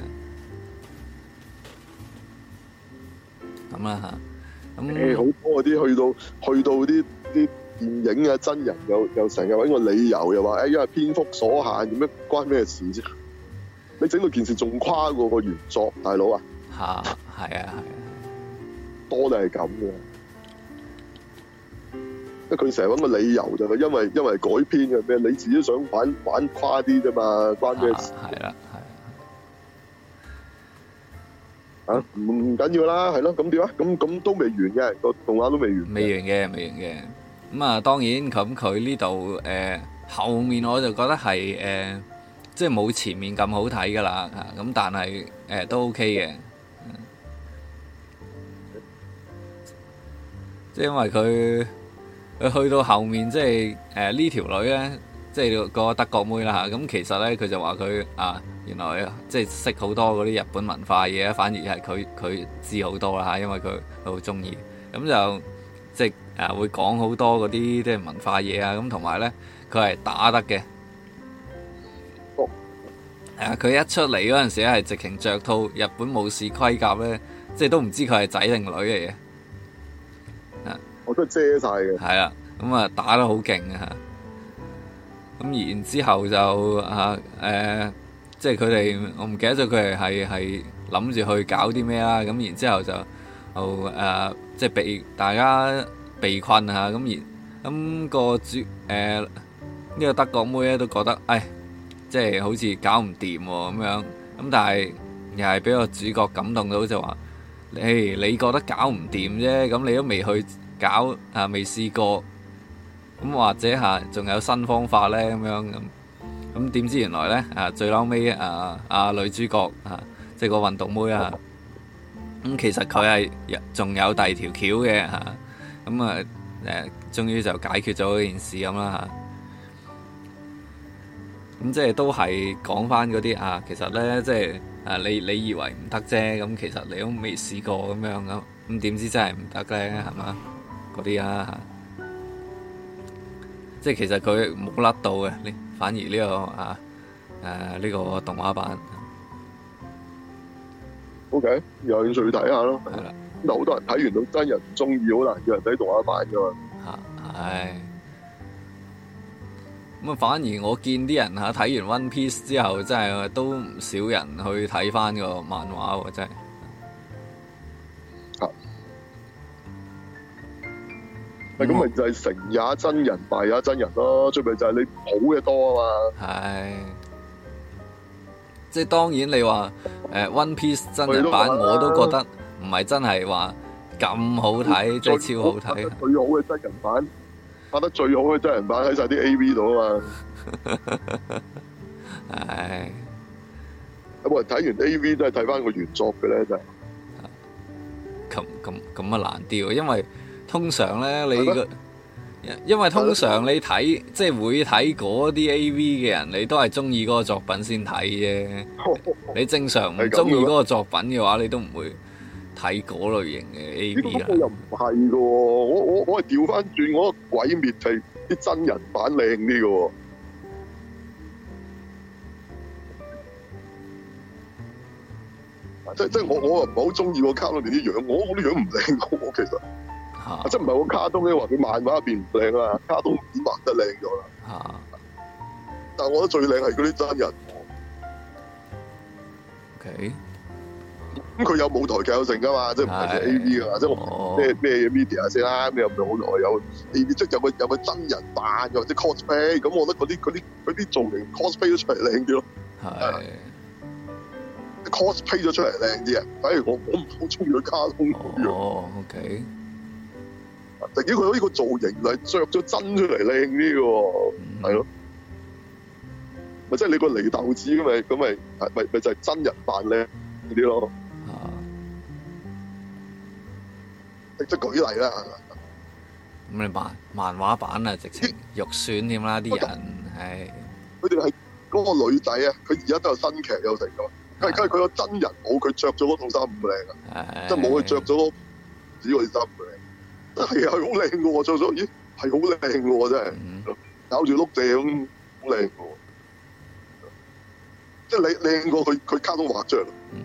咁啦嚇。 好多嗰啲去到啲電影啊真人又成日揾個理由又話因為篇幅所限，咁樣關咩事啫？你整到件事仲跨過個原作，大佬啊！ 係啊， 多都係咁嘅。 佢成日揾個理由就係因為改編嘅咩，你自己想玩誇啲啫嘛，關咩事？ 係啦， 啊，唔緊要啦，係咯，咁點啊？咁都未完嘅，個動畫都未完。 未完嘅。咁啊，當然咁佢呢度後面我就覺得係即係冇前面咁好睇噶啦嚇，咁但係都 OK 嘅，即係因為佢去到後面，即係呢條女咧，即係個德國妹啦嚇，咁其實咧佢就話佢原來即係識好多嗰啲日本文化嘢，反而係佢知好多啦嚇，因為佢好中意，咁就即係會講好多嗰啲即係文化嘢啊，咁同埋咧佢係打得嘅。佢一出嚟嗰陣時咧，係直情着套日本武士盔甲咧，即係都唔知佢係仔定女嚟嘅。 我都遮晒嘅。 係啦，咁啊打得好勁啊！咁然之後就即係佢哋，我唔記得咗佢係諗住去搞啲咩啦。咁然之後就即係被大家被困啊！咁個呢個德國妹咧都覺得，即係好似搞唔掂喎咁樣，咁但係又係俾個主角感動到，就話：你覺得搞唔掂啫，咁你都未去搞未試過，咁或者仲有新方法咧咁樣咁點知原來咧最嬲尾女主角即係個運動妹咁其實佢係仲有第二條橋嘅咁終於就解決咗件事咁啦咁即係都係講翻嗰啲其實咧即係你以為唔得啫，咁其實你都未試過咁樣咁點知真係唔得咧係嘛？嗰啲即係其實佢冇甩到嘅，反而呢個呢個動畫版 OK 有興趣睇下咯。 係啦， 好多人睇完到真人唔中意，好難叫人睇動畫版噶嘛。 係。咁反而我見啲人睇完 One Piece 之後，真係都唔少人去睇翻個漫畫喎，真係。咁咪就係成也真人，敗也真人咯。最尾就係你好嘅多啊嘛。係。即係當然你話One Piece 真人版，我都覺得唔係真係話咁好睇，即係超好睇。最好嘅真人版。拍得最好嘅真人版喺晒啲 A.V. 度啊嘛，係有冇人睇完 A.V. 都係睇翻個原作嘅咧？真係咁啊難啲喎，因為通常咧因為通常你睇即係會睇嗰啲 A.V. 嘅人，你都係中意嗰個作品先睇啫。你正常唔中意嗰個作品嘅話，你都唔會睇嗰類型嘅 A.V. 啦。我又唔係嘅喎，我係調翻轉，我個鬼滅係啲真人版靚啲嘅喎。即係我又唔係好中意個卡通入邊啲樣，我啲樣唔靚嘅喎，其實。即係唔係個卡通咧，話佢漫畫入邊唔靚啊，卡通點畫得靚咗啦。但係我覺得最靚係嗰啲真人。OK。咁佢有舞台劇有成噶嘛，即係唔係 A.V. 噶嘛，即係咩 media 先啦，咩有舞台有 A.V. 即係有個真人扮又或者 cosplay， 咁我覺得嗰啲造型 cosplay 咗出嚟靚啲咯。係 cosplay 咗出嚟靚啲啊，反而我唔好中意佢卡通嗰樣。OK。突然間佢呢個造型係着咗真出嚟靚啲嘅喎，係咯。咪即係你個禰豆子咁咪就係真人扮靚啲咯。即係舉例啦，咁你漫畫版啊，直情肉酸添啦，啲人係。佢哋係嗰個女仔啊，佢而家都有新劇有成㗎嘛。佢個真人冇佢着咗嗰套衫唔靚啊，即係冇佢着咗嗰啲衫唔靚。係好靚㗎喎，着咗咦係好靚㗎喎，真係咬住碌蔗咁好靚㗎喎。即係你靚過佢卡通畫像。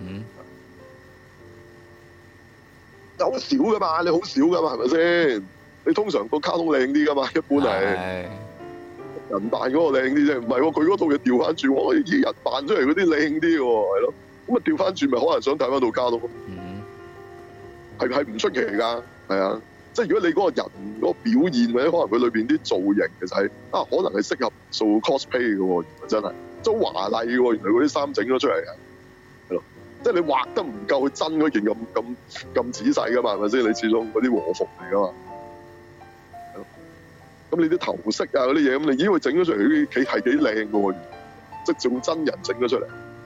好少噶嘛，你好少噶嘛，係咪先？你通常個卡通靚啲噶嘛，一般係人扮嗰個靚啲啫，唔係喎，佢嗰套嘢調翻轉，我啲人扮出嚟嗰啲靚啲喎，係咯，咁啊調翻轉咪可能想睇翻套卡通咯，係唔出奇噶，係啊， 即係如果你嗰個人嗰個表現或者可能佢裏邊啲造型其實係可能係適合做 cosplay 嘅喎，原來真係都華麗嘅喎，原來嗰啲衫整咗出嚟嘅，係咯，即係你畫得唔夠真嗰件咁仔細噶嘛，係咪先？你始終嗰啲和服嚟噶嘛，係咯，咁你啲頭飾啊嗰啲嘢，咁你已經會整咗出嚟，佢係幾靚嘅喎，即係用真人整咗出嚟，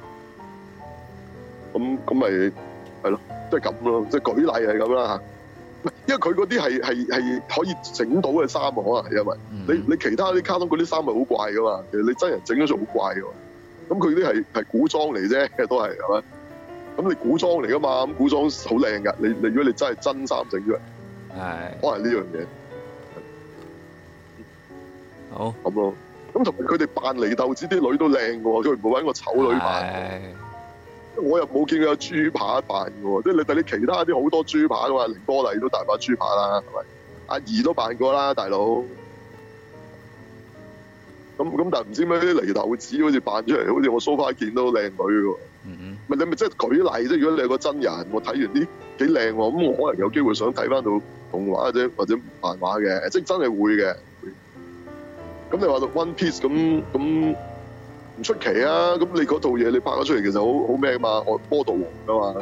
咁咪係咯，即係咁咯，即係舉例係咁啦嚇。因為佢嗰啲係可以整到嘅衫啊，可能係因為你其他啲卡通嗰啲衫係好怪噶嘛，其實你真人整咗出好怪噶嘛。咁佢啲係古裝嚟啫，都係咪？咁你古裝嚟噶嘛，咁古裝好靚噶。你如果你真係真衫整出嚟，係可能呢樣嘢。 好咁咯。咁同埋佢哋扮禰豆子啲女都靚嘅喎，佢唔會揾個醜女扮。我又冇見佢有豬扒扮嘅喎，即係你睇你其他啲好多豬扒噶嘛，凌波麗都大把豬扒啦，係咪？阿怡都扮過啦，大佬。咁但係唔知咩啲禰豆子好似扮出嚟，好似我 so far 見到靚女嘅喎。咪你咪即係舉例啫。如果你係個真人，我睇完啲幾靚喎，咁我可能有機會想睇翻到動畫或者漫畫嘅，即係真係會嘅。咁你話到 One Piece 咁。唔出奇啊！咁你嗰套嘢你拍咗出嚟，其實好咩嘛？我波道王噶嘛，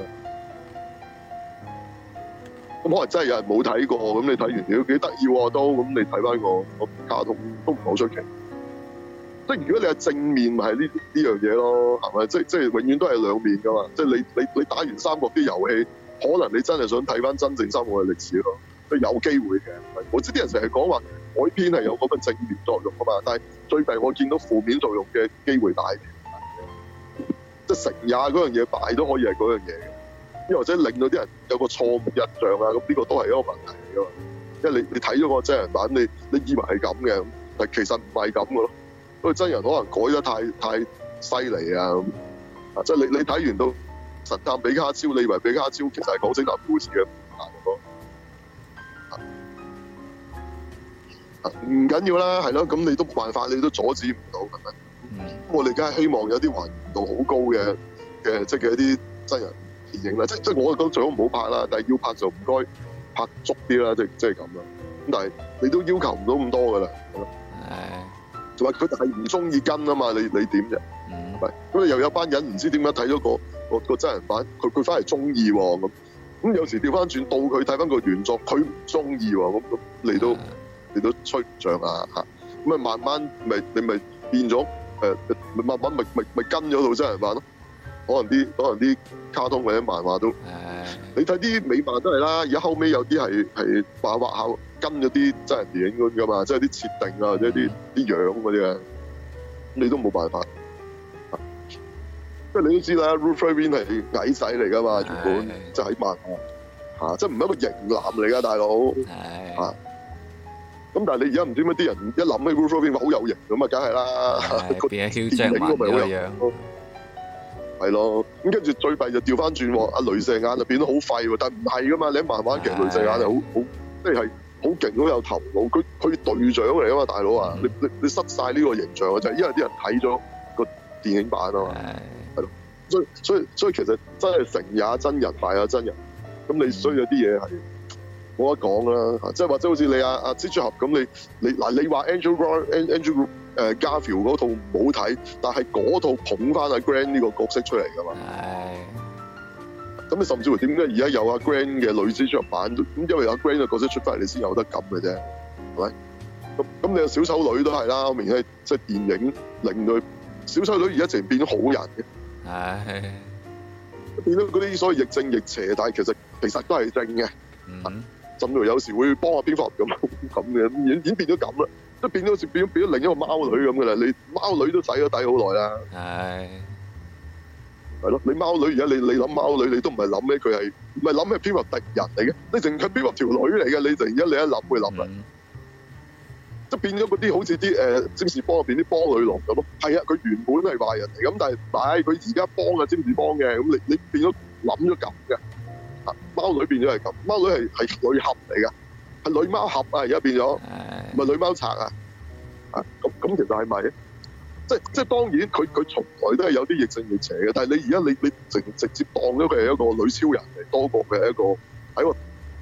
咁可能真係有人冇睇過，咁你睇完屌幾得意喎都，咁你睇翻個卡通都唔好出奇。即係如果你係正面，係呢樣嘢咯，係咪？即係永遠都係兩面噶嘛。即係你打完三國啲遊戲，可能你真係想睇翻真正三國嘅歷史咯，都有機會嘅。我知啲人成日講話改編係有嗰個正面作用噶嘛，但係最弊我見到負面作用嘅機會大啲，即係成也嗰樣嘢，敗都可以係嗰樣嘢嘅，又或者令到啲人有個錯誤印象啊，咁呢個都係一個問題嚟噶嘛。因為你睇咗個真人版，你以為係咁嘅，但其實唔係咁嘅咯。因為真人可能改得太犀利啊，即係你睇完到神探比卡超，你以為比卡超其實係講偵探故事嘅。唔緊要啦，係咯，咁你都冇辦法，你都阻止唔到，係咪？我哋梗係希望有啲還原度好高嘅即係一啲真人電影啦，即係我覺得最好唔好拍啦，但係要拍就唔該拍足啲啦，即係咁啦。咁但係你都要求唔到咁多噶啦，係咯。同埋佢哋係唔中意跟啊嘛，你點啫？係咪？咁你又有班人唔知點解睇咗個真人版，佢翻嚟中意喎咁有時調翻轉到佢睇翻個原作，佢唔中意喎，咁你都吹唔漲啊嚇！咁慢慢你咪變咗慢慢咪跟咗套真人版咯。可能啲卡通或者漫畫都，你睇啲美漫都係啦。而家後尾有啲係畫下跟咗啲真人電影咁噶嘛，即係啲設定啊或者啲樣嗰啲啊，你都冇辦法。即係你都知啦 Ruth Ferrin 係矮仔嚟噶嘛，原本即係喺漫畫即係唔係一個型男嚟噶，大佬咁但係你而家唔知乜啲人一諗起 Ruth Ferrin 好有型咁啊，梗係啦， 變咗囂張嗰個樣， 係咯。咁跟住最弊就調翻轉喎，阿雷射眼就變得好廢喎，但係唔係噶嘛，你喺漫畫劇雷射眼係好即係好勁，好有頭腦，佢隊長嚟噶嘛，大佬啊，你失晒呢個形象就係因為啲人睇咗個電影版啊嘛，係咯，所以其實真係成也真人，敗也真人，咁你需要啲嘢係。冇得講啦，即係或者好似你阿蜘蛛俠咁，你話 Andrew Garfield 嗰套唔好睇，但係嗰套捧翻阿 Gwen 呢個角色出嚟噶嘛。咁你甚至乎點解而家有阿 Gwen 嘅女蜘蛛俠版？咁因為阿 Gwen 嘅角色出翻嚟，你先有得咁嘅啫，係咪？咁你有小丑女都係啦，明顯係即係電影令到小丑女而家直情變咗好人嘅。變到嗰啲所謂亦正亦邪，但係其實都係正嘅。甚至有時會幫下蝙蝠俠咁嘅，已經變咗咁啦，即係變咗變咗另一個貓女咁嘅啦。你貓女都洗咗底好耐啦，係咯。你貓女而家你諗貓女，你都唔係諗咩？佢係唔係諗咩蝙蝠俠敵人嚟嘅？你淨係蝙蝠俠條女嚟嘅，你突然間你一諗會諗啦，即係變咗嗰啲好似啲占士邦入邊啲邦女郎咁咯。係啊，佢原本係壞人嚟，咁但係佢而家幫啊占士邦嘅，咁你變咗諗咗咁嘅。貓女變咗係咁，貓女係女俠嚟㗎，係女貓俠啊！而家變咗，唔係女貓賊啊！咁其實係咪？即係當然佢從來都係有啲亦正亦邪嘅，但係你而家你直接當咗佢係一個女超人嚟，多過佢係一個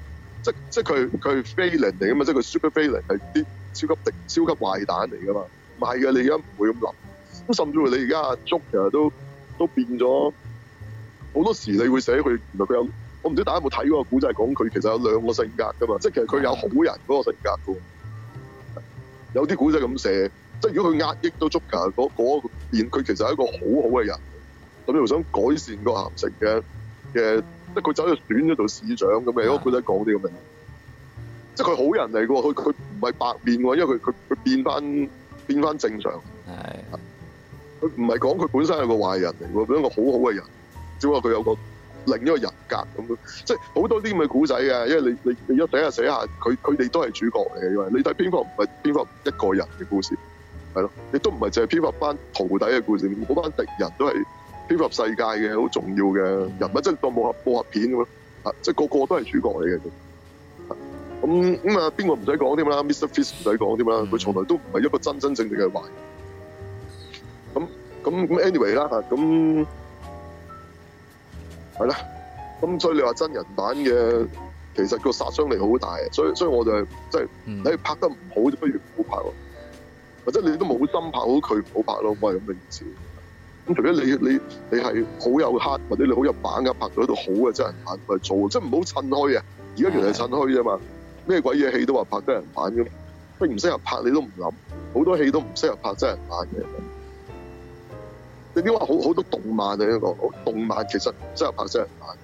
即係佢係 villain 嚟噶嘛，即係佢 super villain 係啲超級壞蛋嚟噶嘛，唔係嘅，你而家唔會咁諗。咁甚至乎你而家阿 Joker 都變咗，好多時你會寫佢原來佢有，我唔知大家有冇睇嗰個古仔講佢其實有兩個性格噶嘛，即係其實佢有好人嗰個性格噶，有啲古仔咁寫，即係如果佢壓抑到 Joker 嗰邊，佢其實係一個好嘅人，咁又想改善個鹹城嘅，即係佢走去選咗做市長咁嘅，嗰個古仔講啲咁嘅，即係佢好人嚟噶喎，佢唔係白面喎，因為佢變翻正常。 係。 佢唔係講佢本身係個壞人嚟喎，佢一個好嘅人，只不過佢有個另一個人格咁樣，即係好多啲咁嘅古仔嘅，因為你一寫下佢哋都係主角嚟嘅，因為你睇蝙蝠唔係蝙蝠一個人嘅故事，係咯，亦都唔係淨係蝙蝠班徒弟嘅故事，嗰班敵人都係蝙蝠世界嘅好重要嘅人物，即係當武俠片咁咯，即係個個都係主角嚟嘅。咁啊，邊個唔使講添啦 ？Mr. Fish 唔使講添啦，佢從來都唔係一個真正嘅壞。咁 anyway 啦嚇，咁係啦，咁所以你話真人版嘅其實個殺傷力好大，所以我就係即係你拍得唔好，就不如唔好拍咯，或者你都冇心拍好佢唔好拍咯，我係咁嘅意思。咁除非你係好有黑，或者你好有把握拍到一套好嘅真人版咪做，即係唔好趁虛啊！而家原來係趁虛啫嘛，咩鬼嘢戲都話拍真人版咁，不如唔適合拍你都唔諗，好多戲都唔適合拍真人版嘅。你點話好多動漫啊？呢個動漫其實唔適合拍真人版，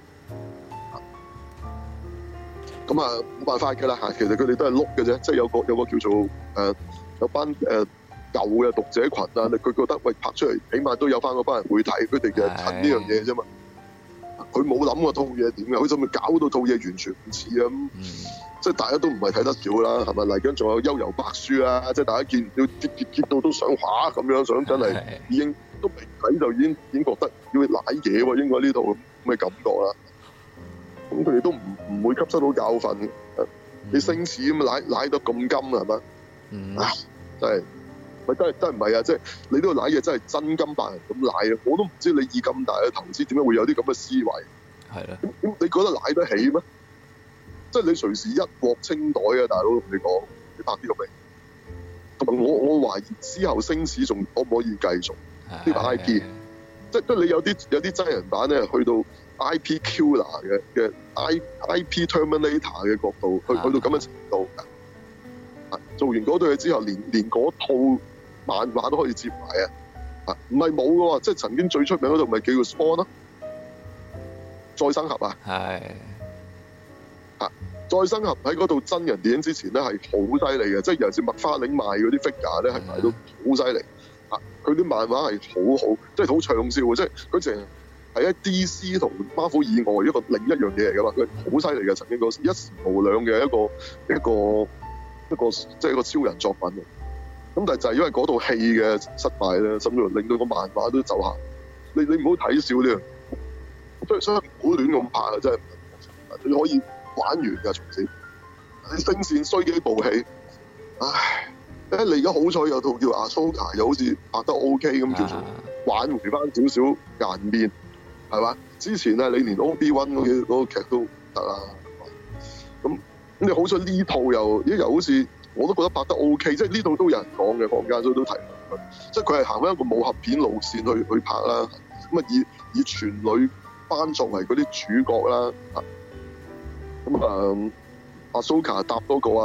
咁啊冇辦法㗎啦嚇。其實佢哋都係碌嘅啫，即係有個叫做有班舊嘅讀者群啊，佢覺得喂拍出嚟起碼都有翻嗰班人會睇，佢哋嘅襯呢樣嘢啫嘛。佢冇諗過套嘢點嘅，佢就咪搞到套嘢完全唔似啊咁。即係大家都唔係睇得少啦，係咪？嚟緊仲有《幽遊白書》啦，即係大家見到結到都想畫咁樣，想真係已經都未睇就已經覺得要舐嘢喎，應該呢套咁嘅感覺啦。咁佢哋都唔會吸收到教訓。你星矢咁舐得咁金係咪？唉，真係真係唔係啊！即係你都舐嘢真係真金白銀咁舐啊！我都唔知你以咁大嘅投資點解會有啲咁嘅思維。係啦。咁你覺得舐得起咩？即係你隨時一鑊清袋啊！大佬同你講，你拍呢個未？同埋我懷疑之後星矢仲可唔可以繼續呢個 IP？ 即係你有啲真人版咧，去到 IP killer 嘅 IP Terminator 嘅角度，去到咁嘅程度㗎。做完嗰對嘢之後，連嗰套漫畫都可以接埋啊！唔係冇嘅喎，即係曾經最出名嗰度咪叫做 Spawn 咯，再生俠啊！係。再生俠喺嗰度真人電影之前咧係好犀利嘅，即係尤其是麥花玲賣嗰啲 figure 咧係賣到好犀利。佢啲漫畫係好好，即係好暢銷嘅，即係佢淨係喺 DC 同 Marvel 以外一個另一樣嘢嚟㗎嘛，佢好犀利嘅，曾經嗰時一時無兩嘅一個即係一個超人作品。咁但係就係因為嗰套戲嘅失敗咧，甚至乎令到個漫畫都走下。你唔好睇少呢樣，所以唔好亂咁拍啊！真係你可以玩完㗎，從此你聲線衰幾部戲，唉！你而家好彩有套叫阿蘇卡，又好似拍得 OK 咁，叫做挽回翻少少顏面，係嘛？之前啊，你連 Obi-Wan 嗰個劇都得啦。咁你好彩呢套又好似我都覺得拍得 OK， 即係呢套都有人講嘅，坊間所以都提佢，即係佢係行翻一個武俠片路線去拍啦。咁啊以全女班作為嗰啲主角啦。咁阿蘇卡搭多個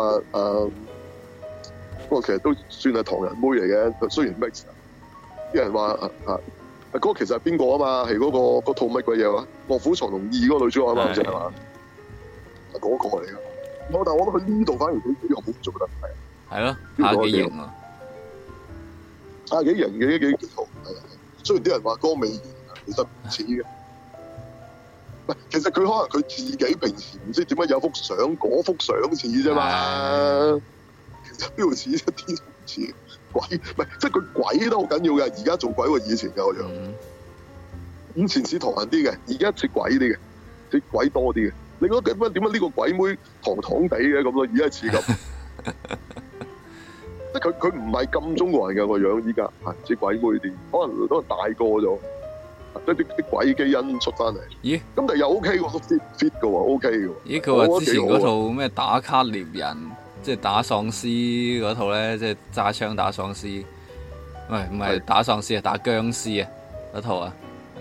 不過其實都算係唐人妹嚟嘅，雖然 mix。啲人話嗰個其實係邊個啊嘛？係嗰套乜鬼嘢話《臥虎藏龍2》嗰個女主角啊嘛，好似係嘛？係嗰個嚟㗎。但係我覺得佢呢度反而佢幾好做得係咯， 下幾型啊！ 下幾型嘅幾好係。雖然啲人話江美儀其實唔似嘅。其實佢可能佢自己平時唔知點解有幅相，嗰幅相似啫嘛。其實邊度似一啲都唔似，鬼唔係即係佢鬼都好緊要嘅。而家做鬼過以前嘅個樣，以前似唐人啲嘅，而家似鬼啲嘅，似鬼多啲嘅。你覺得點解呢個鬼妹堂堂地嘅咁咯？而家似咁，即係佢唔係咁中國人嘅個樣，依家係似鬼妹啲，可能都大個咗。 即係啲鬼基因出翻嚟。 咦？ 咁但係又 OK 喎，都 fit 嘅喎，OK 嘅喎。 咦？佢話之前嗰套咩打卡獵人，即係打喪屍嗰套咧，即係揸槍打喪屍，唔係打喪屍啊，打僵屍啊嗰套啊。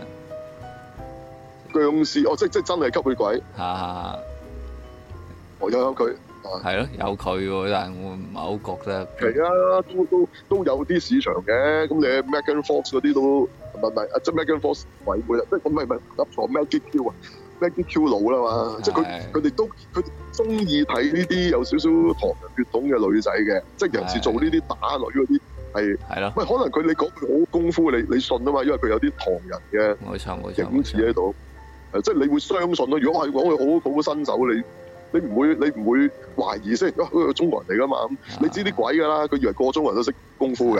僵屍哦，即係真係吸血鬼。 嚇！ 我有佢。 係咯，有佢喎，但係我唔係好覺得。 係啊，都有啲市場嘅。咁你 Megan Fox 嗰啲都唔係即係 Megan Fox 鬼妹啦，即係我唔係噏錯 Maggie Q 啊 ，Maggie Q 佬啦嘛，即係佢哋都佢中意睇呢啲有少少唐人血統嘅女仔嘅，即係尤其是做呢啲打女嗰啲係咯。喂，可能佢你講佢好功夫，你信啊嘛，因為佢有啲唐人嘅冇錯影子喺度，即係你會相信咯。如果係講佢好新手你唔會懷疑先，佢係中國人嚟噶嘛？你知啲鬼噶啦，佢以為個中人都識功夫㗎。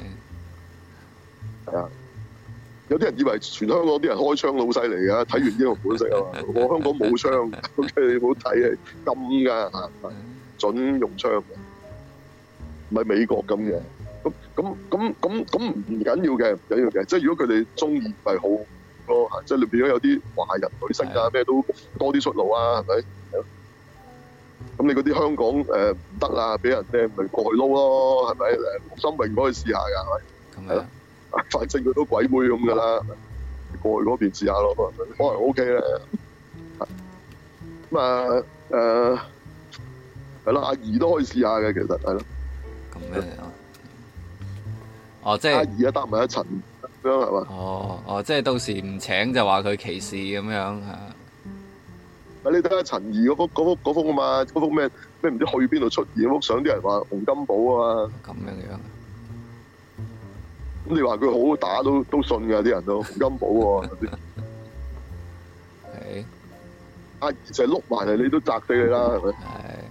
係啊，有啲人以為全香港啲人開槍好犀利㗎，睇完英雄本色啊嘛。我香港冇槍，OK 你唔好睇係金㗎嚇，準用槍嘅，唔係美國咁嘅。咁唔緊要嘅，唔緊要嘅。即係如果佢哋中意咪好咯，即係裏邊有啲華人女星啊，咩都多啲出路啊，係咪？咁你嗰啲香港唔得啦，俾人掟咪過去撈咯，係咪？陸心榮可以試下㗎，係咪？係咯，反正佢都鬼妹咁㗎啦，過去嗰邊試下咯，可能 OK 咧。咁係咯，阿儀都可以試下嘅，其實係咯。 咁咩啊？哦，即係阿儀啊，搭埋一層咁樣係嘛？ 哦，即係到時唔請就話佢歧視咁樣嚇。 你睇下陳怡嗰幅啊嘛，嗰幅咩唔知去邊度出現嗰幅相，啲人話洪金寶啊嘛。 咁樣。 咁你話佢好打都信㗎，啲人都洪金寶喎。 係。 阿儀就係碌埋嚟，你都砸死你啦，係咪？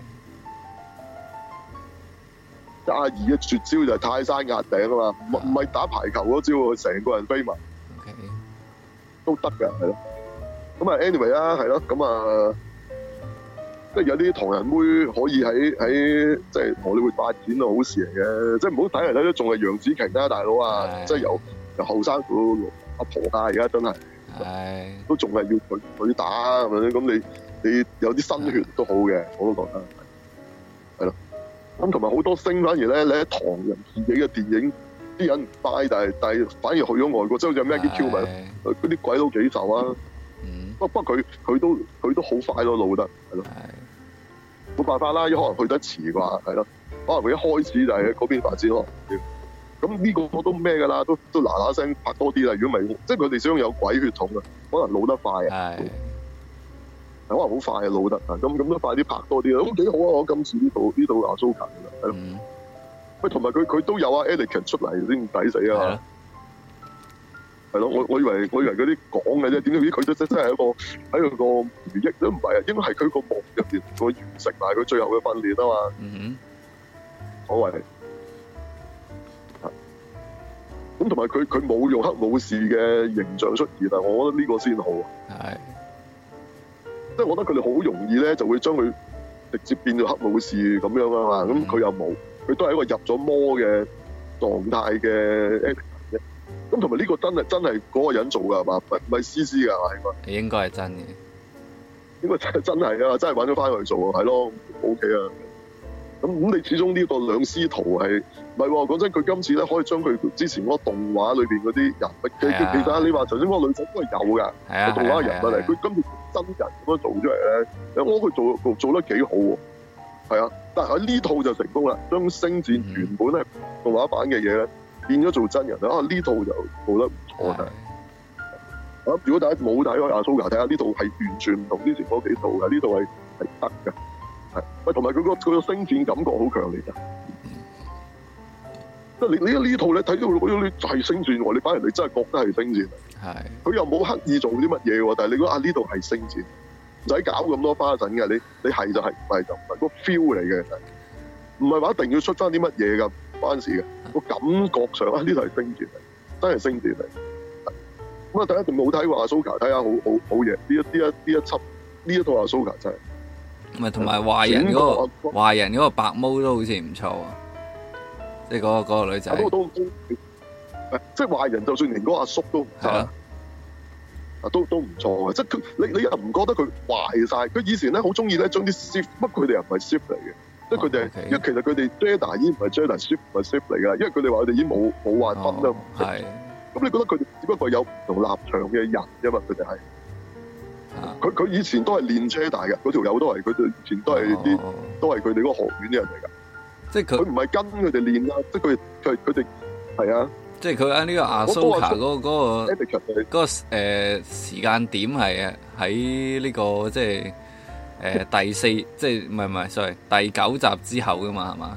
係。阿儀嘅絕招就係泰山壓頂啊嘛，唔係打排球嗰招喎，成個人飛埋。 OK。 都得㗎，係咯。咁啊 ，anyway 啊，係咯，咁啊，即係有啲唐人妹可以喺即係荷里活發展啊，好事嚟嘅，即係唔好睇嚟睇都仲係楊紫瓊啦，大佬啊，即係由後生到阿婆啊，而家真係，都仲係要佢打咁樣，咁你有啲新血都好嘅，我都覺得係咯。咁同埋好多星反而咧，你喺唐人自己嘅電影，啲人唔 buy，但係反而去咗外國，即係好似 Maggie Q 咪，嗰啲鬼佬幾受啊！不過佢都好快咯，老得係咯，冇辦法啦，可能去得遲啩，係咯，可能佢一開始就係嗰邊發展咯。咁呢個我都咩㗎啦，都嗱嗱聲拍多啲啦。如果唔係，即係佢哋想有鬼血統啊，可能老得快啊，可能好快啊，老得啊，咁都快啲拍多啲啦，咁幾好啊！我今次呢度阿蘇卡㗎，係咯，喂，同埋佢都有啊 Anakin 出嚟先抵死啊！係咯，我以為嗰啲講嘅啫，點知佢都真係喺個回憶都唔係啊，應該係佢個夢入邊個完成埋佢最後嘅訓練啊嘛。所謂咁同埋佢冇用黑武士嘅形象出現啊，我覺得呢個先好。即係我覺得佢哋好容易咧就會將佢直接變咗黑武士咁樣啊嘛，咁佢又冇，佢都係一個入咗魔嘅狀態嘅。咁同埋呢個真係嗰個人做㗎係嘛？唔係 CC 㗎係嘛？ 應該係真嘅。 應該真係啊！真係揾咗翻去做啊，係咯 ，OK 啊。咁你始終呢個兩師徒係唔係喎？講真，佢今次咧可以將佢之前嗰個動畫裏邊嗰啲人物，其實你話頭先嗰個女仔都係有㗎，個動畫人物嚟。佢今次真人咁樣做出嚟咧，我覺得佢做得幾好喎。係啊，但係喺呢套就成功啦，將星戰原本係動畫版嘅嘢咧。變咗做真人啊！呢套就做得唔錯嘅。咁如果大家冇睇開阿蘇卡，睇下呢套係完全唔同之前嗰幾套嘅，呢套係得嘅。係，喂，同埋佢個星戰感覺好強烈㗎。即係你呢套你睇到嗰啲係星戰喎，你反而你真係覺得係星戰。係。佢又冇刻意做啲乜嘢喎，但係你覺得呢度係星戰，唔使搞咁多花神嘅。你係就係，唔係就唔係，個 feel 嚟嘅，唔係話一定要出翻啲乜嘢㗎。關事嘅，個感覺上呢度係星戰嚟，真係星戰嚟。咁啊，大家仲冇睇過阿蘇卡，睇下好嘢。呢一套阿蘇卡真係。 唔係同埋壞人嗰個白毛都好似唔錯啊！即係嗰個女仔。 都即係壞人，就算連嗰個阿叔都唔差。 都唔錯嘅，即係你又唔覺得佢壞晒？佢以前咧好中意咧將啲 Sith， 不過佢哋又唔係 Sith 嚟嘅，即係佢哋，因為其實佢哋 Jedi 已經唔係 Jedi，Sith 唔係 Sith 嚟㗎，因為佢哋話佢哋已經冇話分啦。 係。 咁你覺得佢哋只不過有唔同立場嘅人啫嘛？佢哋係。佢以前都係練 Jedi 嘅，嗰條友都係佢哋以前都係佢哋嗰個學院嘅人嚟㗎。 即係佢唔係跟佢哋練啦，即係佢哋係啊。 即係佢喺呢個阿蘇卡嗰個時間點係喺呢個即係第四，即係唔係 sorry 第9集之後噶嘛，係嘛？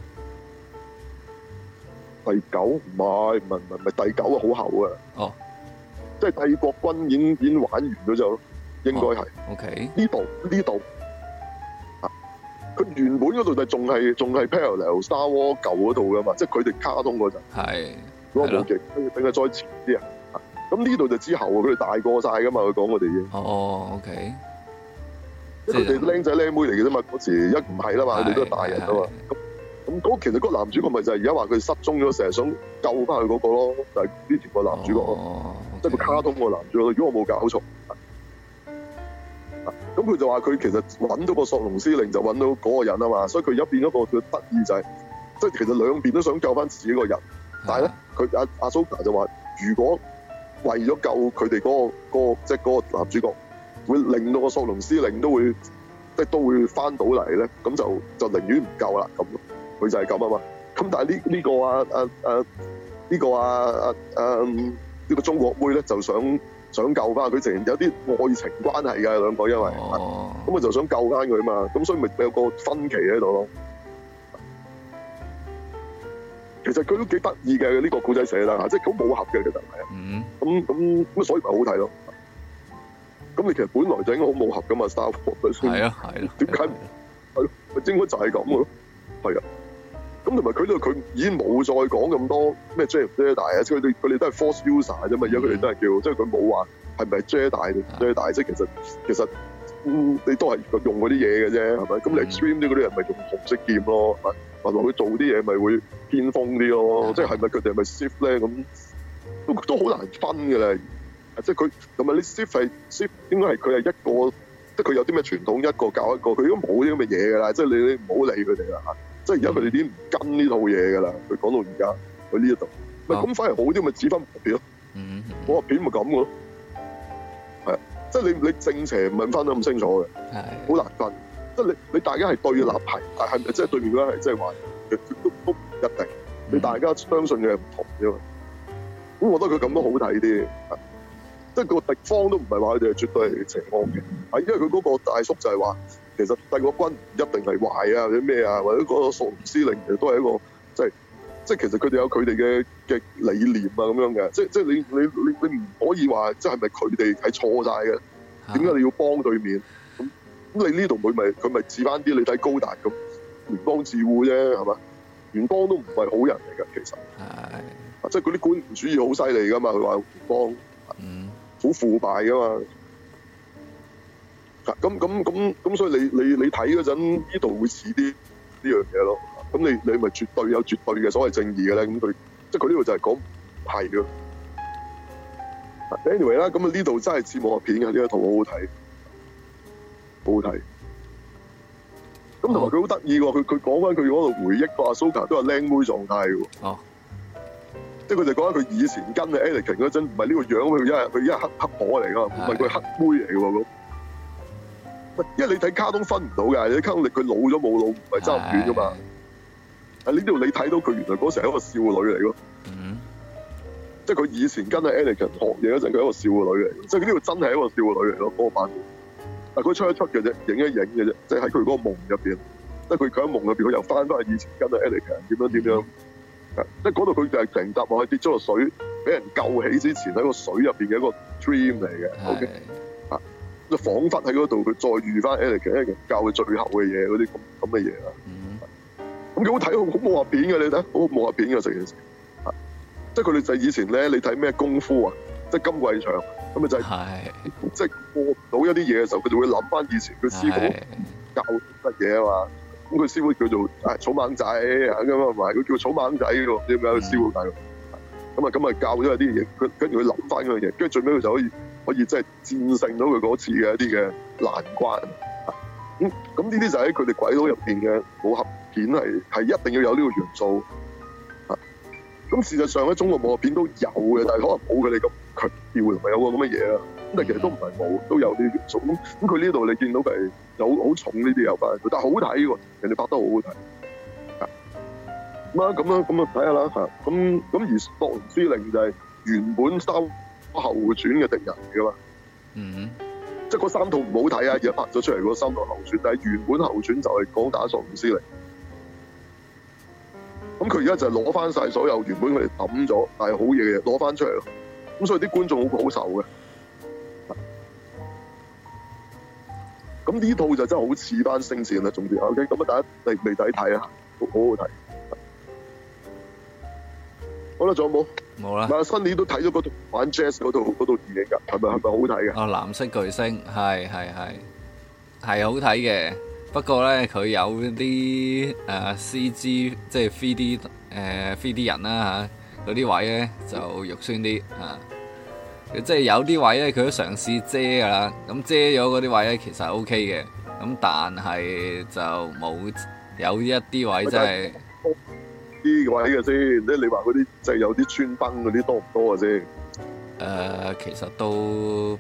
第9唔係第9啊，好後啊！ 哦， 即係帝國軍已經玩完咗就應該係。 OK， 呢度啊，佢原本嗰度就仲係 parallel Star Wars 舊嗰度噶嘛，即係佢哋卡通嗰陣。係。嗰個武技，等佢再前啲啊！咁呢度就之後佢哋大個晒噶嘛，佢講我哋已經。 OK。 即係佢哋僆仔僆妹嚟嘅啫嘛，嗰時一唔係啦嘛，佢哋都係大人啊嘛。咁嗰其實嗰個男主角咪就係而家話佢失蹤咗，成日想救翻佢嗰個咯，就係呢條個男主角咯，即係個卡通個男主角。如果我冇搞錯，咁佢就話佢其實揾到個索隆司令就揾到嗰個人啊嘛，所以佢而家變咗個佢得意就係，即係其實兩邊都想救翻自己個人。但係咧，佢阿蘇卡就話：如果為咗救佢哋即係嗰個男主角，會令到個索隆司令都會翻到嚟咧，咁就寧願唔救啦。咁佢就係咁啊嘛。咁但係呢個中國妹咧就想救翻佢，直情有啲愛情關係嘅兩個，因為咁佢就想救翻佢啊嘛。咁所以咪有個分歧喺度咯。其實佢都幾得意嘅呢個故仔寫啦，即係好武俠嘅其實係啊。咁所以咪好睇咯。咁你其實本來就應該好武俠噶嘛，Star Wars。係啊。點解唔係咯？咪應該就係咁嘅咯。係啊。咁同埋佢已經冇再講咁多咩 Jedi 啊，即係佢哋都係 Force user 啫嘛。而家佢哋都係叫，即係佢冇話係咪 Jedi 定 Jedi，即係其實你都係用嗰啲嘢嘅啫，係咪？咁你 Extreme 啲嗰啲人咪用紅色劍咯，係咪？或者佢做啲嘢咪會偏鋒啲咯，即係咪佢哋係咪 Sith 咧？咁都好難分嘅啦。即係佢同埋你 Sith 應該係佢係一個，即係佢有啲咩傳統一個教一個，佢都冇啲咁嘅嘢㗎啦。即係你唔好理佢哋啦嚇。即係而家佢哋已經唔跟呢套嘢㗎啦。佢講到而家佢呢一度，咪咁反而好啲咪指分武俠片咯。武俠片咪咁嘅咯。係啊，即係你正邪唔係分得咁清楚嘅，好難分。即係你大家係對立係，但係咪即係對面嗰個係即係話都唔一定。你大家相信嘅係唔同啫嘛。咁我覺得佢咁都好睇啲。即係個敵方都唔係話佢哋係絕對係邪惡嘅，係因為佢嗰個大叔就係話，其實帝國軍唔一定係壞啊，或者咩啊，或者嗰個索隆司令其實都係一個即係其實佢哋有佢哋嘅理念啊咁樣嘅，即係你唔可以話即係咪佢哋係錯晒嘅？點解你要幫對面？咁你呢度佢咪似翻啲？你睇高達咁聯邦自護啫，係嘛？聯邦都唔係好人嚟㗎，其實係即係嗰啲官僚主義好犀利㗎嘛，佢話聯邦。好腐敗噶嘛，咁所以你睇嗰陣呢度會似啲呢樣嘢咯。咁你咪絕對有絕對嘅所謂正義嘅咧。咁佢即係佢呢度就係講係嘅。Anyway 啦，咁啊呢度真係似武俠片嘅呢一套好好睇，好好睇。咁同埋佢好得意喎，佢講翻佢嗰度回憶個阿蘇卡都係靚妹狀態嘅喎。即係佢哋講緊佢以前跟阿 Anakin 嗰陣，唔係呢個樣，佢一係黑婆嚟㗎，唔係佢黑妹嚟㗎喎。因為你睇卡通分唔到㗎，你睇卡通佢老咗冇老，唔係爭咁遠㗎嘛。喺呢度你睇到佢原來嗰時係一個少女嚟咯。即係佢以前跟阿 Anakin 學嘢嗰陣，佢係一個少女嚟。即係呢度真係一個少女嚟咯，嗰個版本。但係佢出一出嘅啫，影一影嘅啫，即係喺佢嗰個夢入邊。即係佢喺夢入邊，佢又翻去以前跟阿 Anakin 點樣。即係嗰度佢就係成集落去跌咗落水，俾人救起之前喺個水入邊嘅一個 dream 嚟嘅。OK， 就彷彿喺嗰度佢再遇翻 Anakin 教佢最後嘅嘢嗰啲咁嘅嘢啦。咁幾好睇，好武俠片嘅你睇，好武俠片嘅成件事。即係佢哋就係以前咧，你睇咩功夫啊，即係金貴祥咁咪就係，即係過唔到一啲嘢嘅時候，佢就會諗翻以前佢師傅教乜嘢啊嘛。咁佢師傅叫做草蜢仔咁啊，唔係佢叫草蜢仔喎，點解佢師傅大佬？ 咁啊教咗有啲嘢，跟住佢諗翻嗰樣嘢，跟住最尾佢就可以即係戰勝到佢嗰次嘅一啲嘅難關。咁呢啲就喺佢哋鬼佬入邊嘅武俠片係一定要有呢個元素。咁事實上咧，中國武俠片都有嘅，但係可能冇佢哋咁強調，同埋有個咁嘅嘢啦。咁但係其實都唔係冇，都有啲元素。咁佢呢度你見到佢係有好重呢啲有關，但係好睇喎，人哋拍得好好睇。咁啊睇下啦嚇。咁而索隆之令就係原本3後傳嘅敵人嚟噶嘛。即係嗰3套唔好睇啊！而家拍咗出嚟嗰3套後傳，但係原本後傳就係講打索隆之令。咁佢而家就係攞翻晒所有原本佢哋抌咗但係好嘢嘅嘢攞翻出嚟咯。咁所以啲觀眾好受嘅。咁呢套就真係好似班星戰啦，總之 OK。咁啊，大家未睇睇啊，好好睇。好啦，仲有冇？ 冇啦。 嗱，新年都睇咗嗰套玩 Jazz 嗰套電影㗎，係咪好睇嘅？ 哦，藍色巨星係好睇嘅。不過咧，佢有啲CG 即係 3D 人啦嚇，嗰啲位咧就肉酸啲啊。即係有啲位咧，佢都嘗試遮㗎啦。咁遮咗嗰啲位咧，其實 OK 嘅。咁但係就冇有一啲位真係啲位嘅先。即係你話嗰啲即係有啲穿崩嗰啲多唔多啊先？ 其實都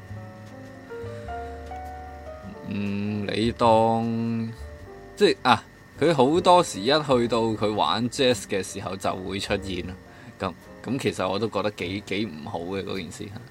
你當即係啊，佢好多時一去到佢玩 Jazz 嘅時候就會出現咯。咁其實我都覺得幾唔好嘅嗰件事嚇。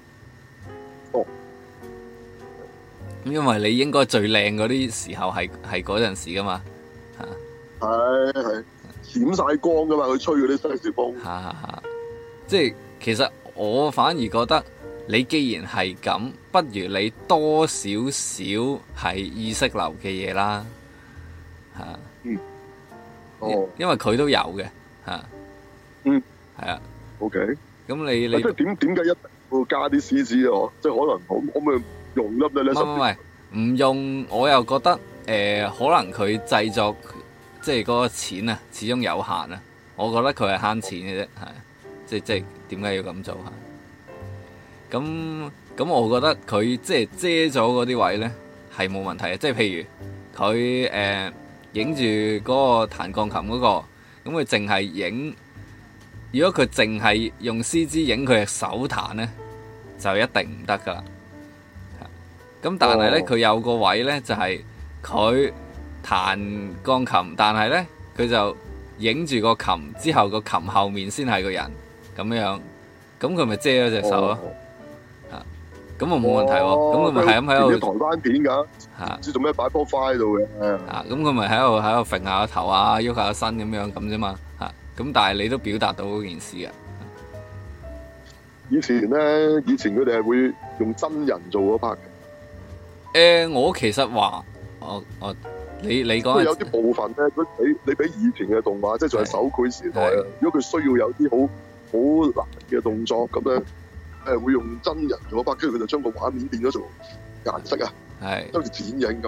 因為你應該最靚嗰啲時候係嗰陣時噶嘛嚇。係閃晒光噶嘛，佢吹嗰啲西式風。即係其實我反而覺得你既然係咁，不如你多少少係意識流嘅嘢啦嚇。因為佢都有嘅嚇。係啊。OK。咁你即係點解一定要加啲 CG 啊？即係可能可唔可以用粒咧？唔用，我又覺得可能佢製作即係嗰個錢啊，始終有限啊。我覺得佢係慳錢嘅啫，係即係點解要咁做嚇？咁我覺得佢即係遮咗嗰啲位咧係冇問題嘅，即係譬如佢影住嗰個彈鋼琴嗰個，咁佢淨係影。如果佢淨係用 CG 影佢嘅手彈咧，就一定唔得噶啦。咁但係咧，佢有個位咧就係佢彈鋼琴，但係咧佢就影住個琴之後，個琴後面先係個人咁樣，咁佢咪遮咗隻手咯。咁我冇問題喎。咁佢咪係咁喺度台灣片㗎，唔知做咩擺波花喺度嘅。咁佢咪喺度揈下個頭啊，喐下個身咁樣咁啫嘛。咁但係你都表達到嗰件事啊。以前佢哋係會用真人做嗰 part 嘅。我其實話你講有啲部分咧，你比以前嘅動畫，即係仲係手繪時代啊。如果佢需要有啲好難嘅動作咁咧，會用真人做嗰 part，跟住佢就將個畫面變咗做顏色啊，好似剪影咁。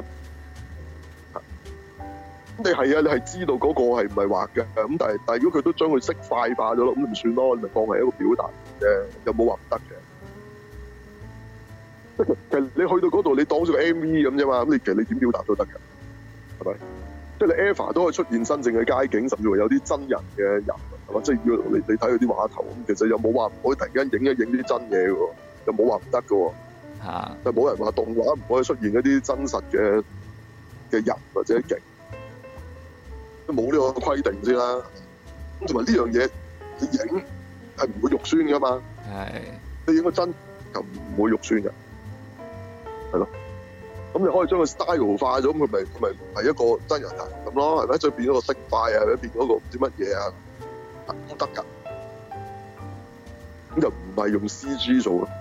咁你係啊，你係知道嗰個係唔係畫嘅，咁但係如果佢都將佢色塊化咗咯，咁咪算咯，你咪當係一個表達啫，又冇話唔得嘅。其實你去到嗰度，你當咗個 MV 咁啫嘛，咁你其實你點表達都得嘅，係咪？即係你 EVA 都可以出現真正嘅街景，甚至乎有啲真人嘅人，係嘛？即係要你睇佢啲畫頭，咁其實又冇話唔可以突然間影一影啲真嘢嘅喎，又冇話唔得嘅喎。但係冇人話動畫唔可以出現一啲真實嘅人或者景。都冇呢個規定先啦，咁同埋呢樣嘢你影係唔會肉酸噶嘛，你影個真就唔會肉酸嘅，係咯，咁你可以將佢 style 化咗，咁佢咪係一個真人啊咁咯，係咪？再變咗個色塊啊，或者變咗個唔知乜嘢啊，都得㗎，咁就唔係用 CG 做咯，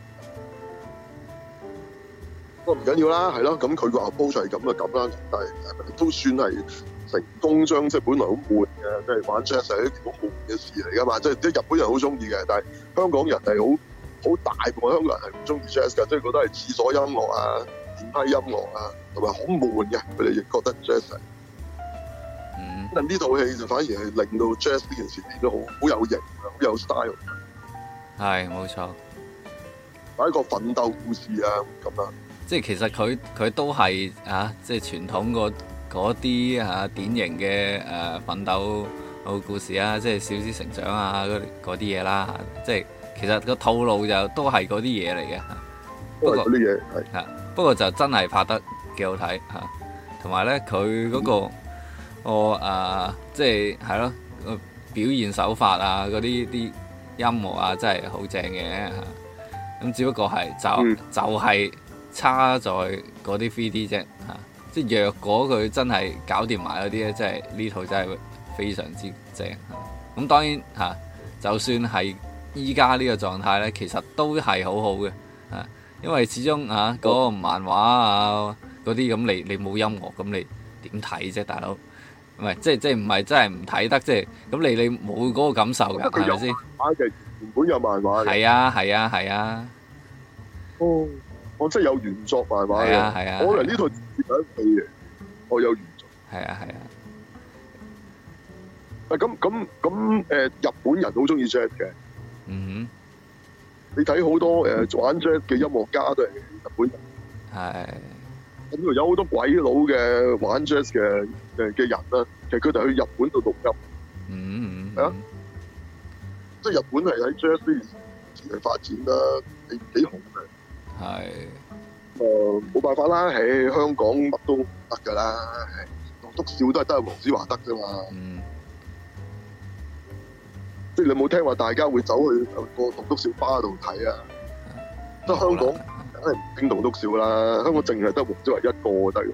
不過唔緊要啦，係咯，咁佢個 approach 係咁就咁啦，但係都算係成功將即係本來好悶嘅，即係玩 jazz 係一件好悶嘅事嚟㗎嘛，即係日本人好中意嘅，但係香港人係好大部分香港人係唔中意 jazz 㗎，即係覺得係廁所音樂啊、電梯音樂啊，同埋好悶嘅，佢哋亦覺得 jazz 係。但呢套戲就反而係令到 jazz 呢件事變得好有型啊，好有 style。 係冇錯， 係一個奮鬥故事啊咁啊。 即係其實佢都係即係傳統嗰啲典型嘅奮鬥故事啊，即係小子成長啊嗰啲嘢啦，即係其實個套路就都係嗰啲嘢嚟嘅。不過嗰啲嘢係不過就真係拍得幾好睇嚇，同埋咧佢嗰個即係係咯表現手法啊，嗰啲音樂啊，真係好正嘅嚇。咁只不過係就係差在嗰啲 3D 啫嚇，即係若果佢真係搞掂埋嗰啲咧，真係呢套真係非常之正嚇。咁當然嚇，就算係依家呢個狀態咧，其實都係好好嘅嚇，因為始終嗰個漫畫啊嗰啲咁，你冇音樂咁你點睇啫，大佬？唔係即係唔係真係唔睇得，即係咁你冇嗰個感受㗎，係咪先？ 漫畫嘅原本有漫畫嘅。 係啊。 哦，我真係有原作漫畫嘅。 係啊。 我嚟呢套接緊戲嘅，我有原作。 係啊。 咁日本人好中意 jazz 嘅。 嗯哼。你睇好多玩 jazz 嘅音樂家都係日本人。 係。 咁度有好多鬼佬嘅玩 jazz 嘅人啦，其實佢哋去日本度錄音。係啊。即係日本係喺 jazz 呢邊發展啦，幾紅嘅。係。冇辦法啦，喺香港乜都得㗎啦，棟篤笑都係得黃子華得啫嘛。即係你冇聽話，大家會走去個棟篤笑吧度睇啊？即係香港梗係唔興棟篤笑啦，香港淨係得黃子華一個得嘅。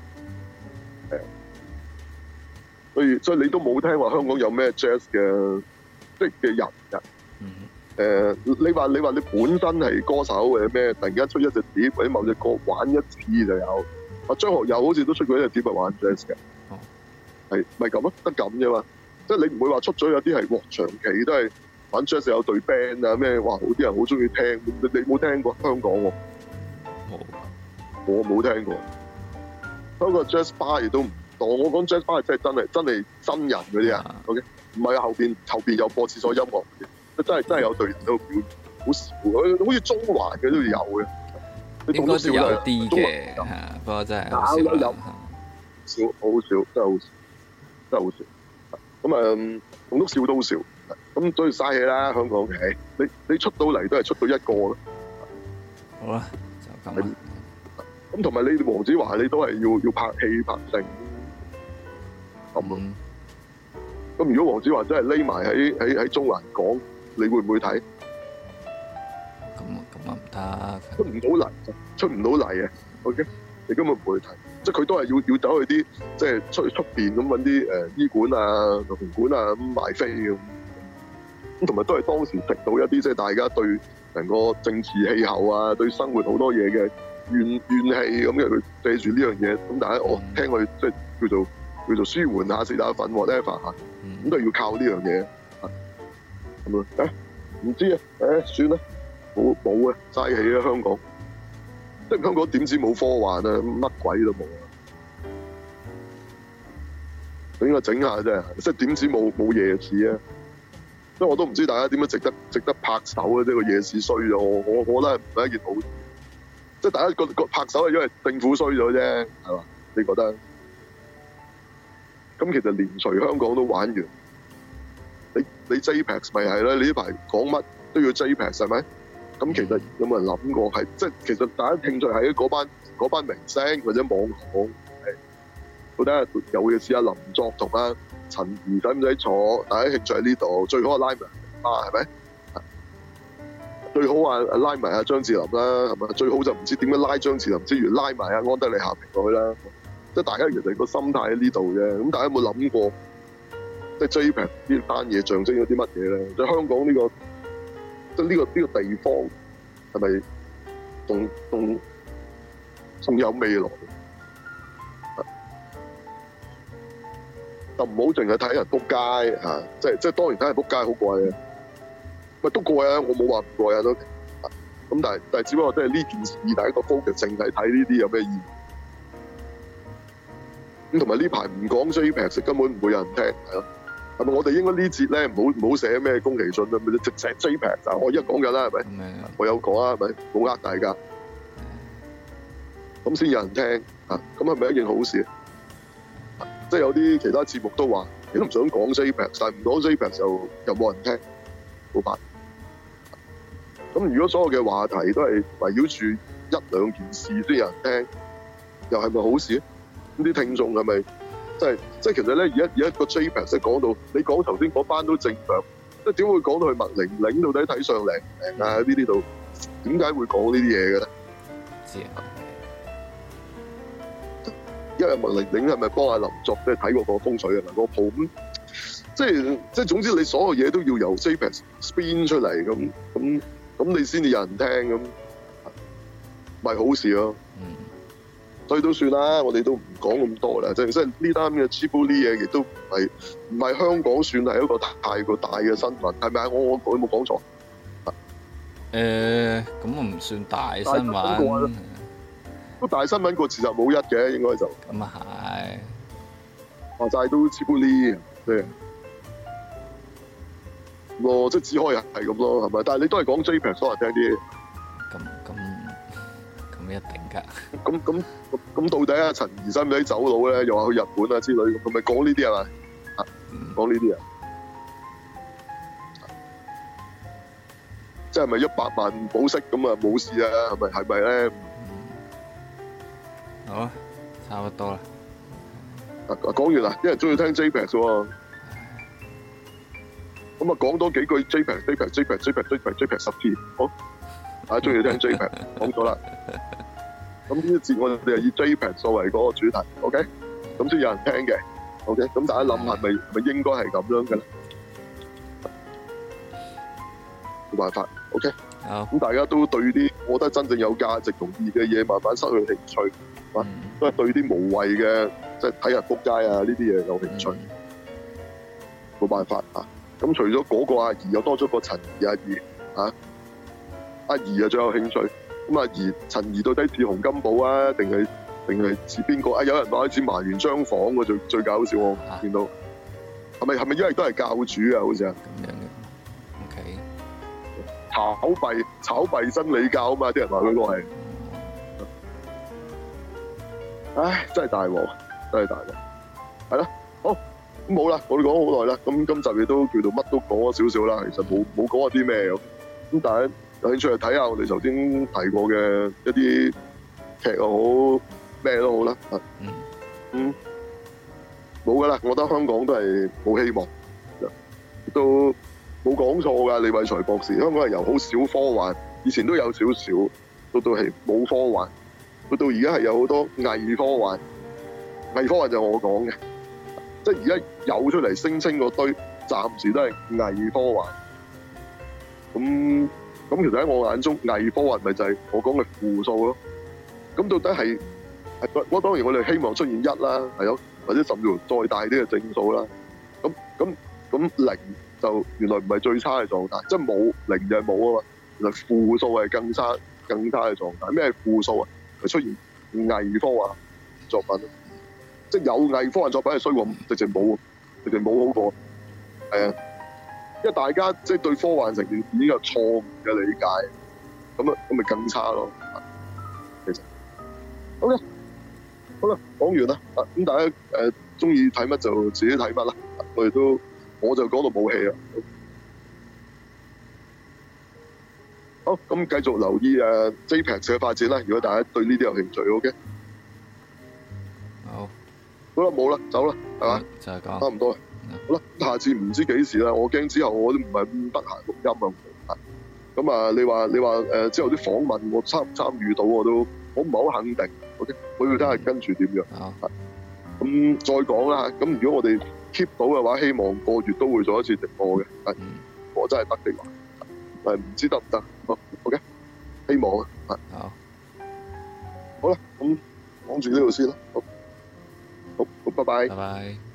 係。所以你都冇聽話香港有咩 jazz 嘅即係嘅人㗎。你話你本身係歌手或者咩，突然間出一隻碟或者某隻歌玩一次就有。張學友好似都出過一隻碟係玩 jazz 嘅。係咪咁啊？得咁啫嘛。即係你唔會話出咗有啲係長期都係玩 jazz 有隊 band 啊咩？哇！好啲人好中意聽，你冇聽過香港喎？我冇聽過。香港 jazz bar 亦都唔多。我講 jazz bar 係真係真人嗰啲啊。OK， 唔係後邊有播廁所音樂嘅，真係有隊人喺度表演，好少。好似中環嘅都有嘅。 應該都有啲嘅，不過真係好少啦。 好少，真係好少。咁棟篤笑都好少，咁所以嘥氣啦，香港嘅。你出到嚟都係出到一個咯。 好啦，就咁啦。 咁同埋你黃子華，你都係要拍戲拍成咁咯。咁如果黃子華真係匿埋喺中環講，你會唔會睇？ 咁唔得， 出唔到嚟啊 ！OK， 你根本唔會睇。即係佢都係要走去啲即係出邊咁揾啲醫館啊、紅館啊咁賣飛咁，同埋都係當時食到一啲即係大家對成個政治氣候啊、對生活好多嘢嘅怨氣咁嘅，佢借住呢樣嘢咁，大家聽佢即係叫做舒緩下食下粉 whatever 嚇，咁都係要靠呢樣嘢咁啊！唔知啊，算啦，冇啊，嘥氣啊香港。即係香港點知冇科幻啊？乜鬼都冇啊！應該整下啫，即係點知冇夜市啊？所以我都唔知大家點樣值得拍手啊！即係個夜市衰咗，我覺得唔係一件好事。即係大家覺拍手係因為政府衰咗啫，係嘛？你覺得？咁其實連隨香港都玩完，你 JPEX 咪係啦？你呢排講乜都要 JPEX 係咪？咁其實有冇人諗過係即係其實大家興趣係嗰班明星或者網紅，到底有嘅試下林作同阿陳怡使唔使坐？大家興趣喺呢度，最好拉埋係咪？最好拉埋阿張智霖啦，係咪？最好就唔知點樣拉張智霖之餘，拉埋阿安德利夏平過去啦。即係大家其實個心態喺呢度啫。咁大家有冇諗過，即係 JPEX 呢單嘢象徵咗啲乜嘢咧？即係香港呢個。即係呢個地方係咪仲有未來？就唔好淨係睇人仆街嚇，即係當然睇人仆街好過癮，咪都過癮，我冇話唔過癮都。咁但係只不過即係呢件事，大家個 focus 淨係睇呢啲有咩意義？咁同埋呢排唔講 JPEX 根本唔會有人聽，係咯。 係咪我哋應該呢節咧唔好寫咩宮崎駿啊，咪直寫 JPEX 就我而家講緊啦，係咪？我有講啊，係咪？冇呃大家，咁先有人聽啊，咁係咪一件好事？即係有啲其他節目都話，你都唔想講 JPEX， 但係唔講 JPEX 又冇人聽，冇辦法。咁如果所有嘅話題都係圍繞住一兩件事先有人聽，又係咪好事咧？咁啲聽眾係咪即係其實咧？而家個 JPEX 講到你講頭先嗰班都正常，即係點會講到去麥玲玲到底睇上靚唔靚啊？呢啲度點解會講呢啲嘢嘅咧？ 知啊。 因為麥玲玲係咪幫阿林作即係睇過個風水啊？個鋪咁即係總之你所有嘢都要由 JPEX spin 出嚟咁你先至有人聽咁，咪好事咯。所以都算啦，我哋都唔講咁多啦。即係呢單嘅 Ghibli 嘢，亦都唔係香港算係一個太過大嘅新聞，係咪啊？我有冇講錯？ 咁唔算大新聞。 都大新聞過事實冇一嘅，應該就。 咁啊係。 話晒都 Ghibli 嘅。咯，即係只可以係咁咯，係咪？但係你都係講 JPEX 可能聽啲。咁一定㗎。咁到底啊陳怡使唔使走佬咧？又話去日本啊之類，咁咪講呢啲係咪？講呢啲啊？即係咪100萬保釋咁啊冇事啊？係咪咧？ 好啊，差唔多啦。 講完啦，啲人中意聽 JPEX 喎。咁啊，講多幾句 JPEX 10次，好，大家中意聽 JPEX， 講咗啦。咁呢一節我哋係以 JPEX 作為嗰個主題 ，OK？ 咁先有人聽嘅 ，OK？ 咁大家諗係咪應該係咁樣嘅咧？冇辦法 ，OK？ 咁大家都對啲我覺得真正有價值同意嘅嘢慢慢失去興趣，都係對啲無謂嘅即係睇人仆街啊呢啲嘢有興趣，冇辦法啊！咁除咗嗰個阿姨，又多咗個陳怡阿姨啊！阿姨啊最有興趣。咁阿姨陳怡到底似洪金寶啊，定係似邊個啊？有人話似麻原彰晃喎，最搞笑我見到。係咪因為都係教主啊？好似啊。咁樣嘅。OK。炒幣真理教啊嘛！啲人話嗰個係。唉，真係大鑊，真係大鑊。係啦，好。咁冇啦，我哋講好耐啦。咁今集亦都叫做乜都講咗少少啦。其實冇講過啲咩咁，但係有興趣去睇下我哋頭先提過嘅一啲劇又好，咩都好啦。冇噶啦，我覺得香港都係冇希望，都冇講錯㗎。李偉才博士，香港係由好少科幻，以前都有少少，到係冇科幻，到而家係有好多偽科幻。偽科幻就係我講嘅。即係而家有出嚟聲稱嗰堆，暫時都係偽科幻。咁其實喺我眼中，偽科幻咪就係我講嘅負數咯。咁到底係我當然我哋希望出現1啦，係咯，或者甚至乎再大啲嘅正數啦。咁0就原來唔係最差嘅狀態，即係冇0就係冇啊嘛。原來負數係更差嘅狀態。咩係負數啊？係出現偽科幻作品。即係有偽科幻作品係衰過，直情冇好過，係啊，因為大家即係對科幻成件事已經有錯誤嘅理解，咁咪更差咯。其實，OK，好啦，講完啦，咁大家中意睇乜就自己睇乜啦，我就講到冇戲啦。好，咁繼續留意JPEX 嘅發展啦。如果大家對呢啲有興趣 ，OK。好啦，冇啦，走啦，係嘛？ 就係咁， 差唔多啦。好啦，下次唔知幾時啦，我驚之後我都唔係咁得閒錄音啊。咁啊，你話之後啲訪問我參唔參與到我唔係好肯定。OK， 我要睇下跟住點樣。咁再講啦。咁如果我哋 keep 到嘅話，希望個月都會做一次直播嘅。我真係得嘅話，唔知得唔得？OK， 希望啊。好啦，咁講住呢度先啦。好，拜拜。 拜拜。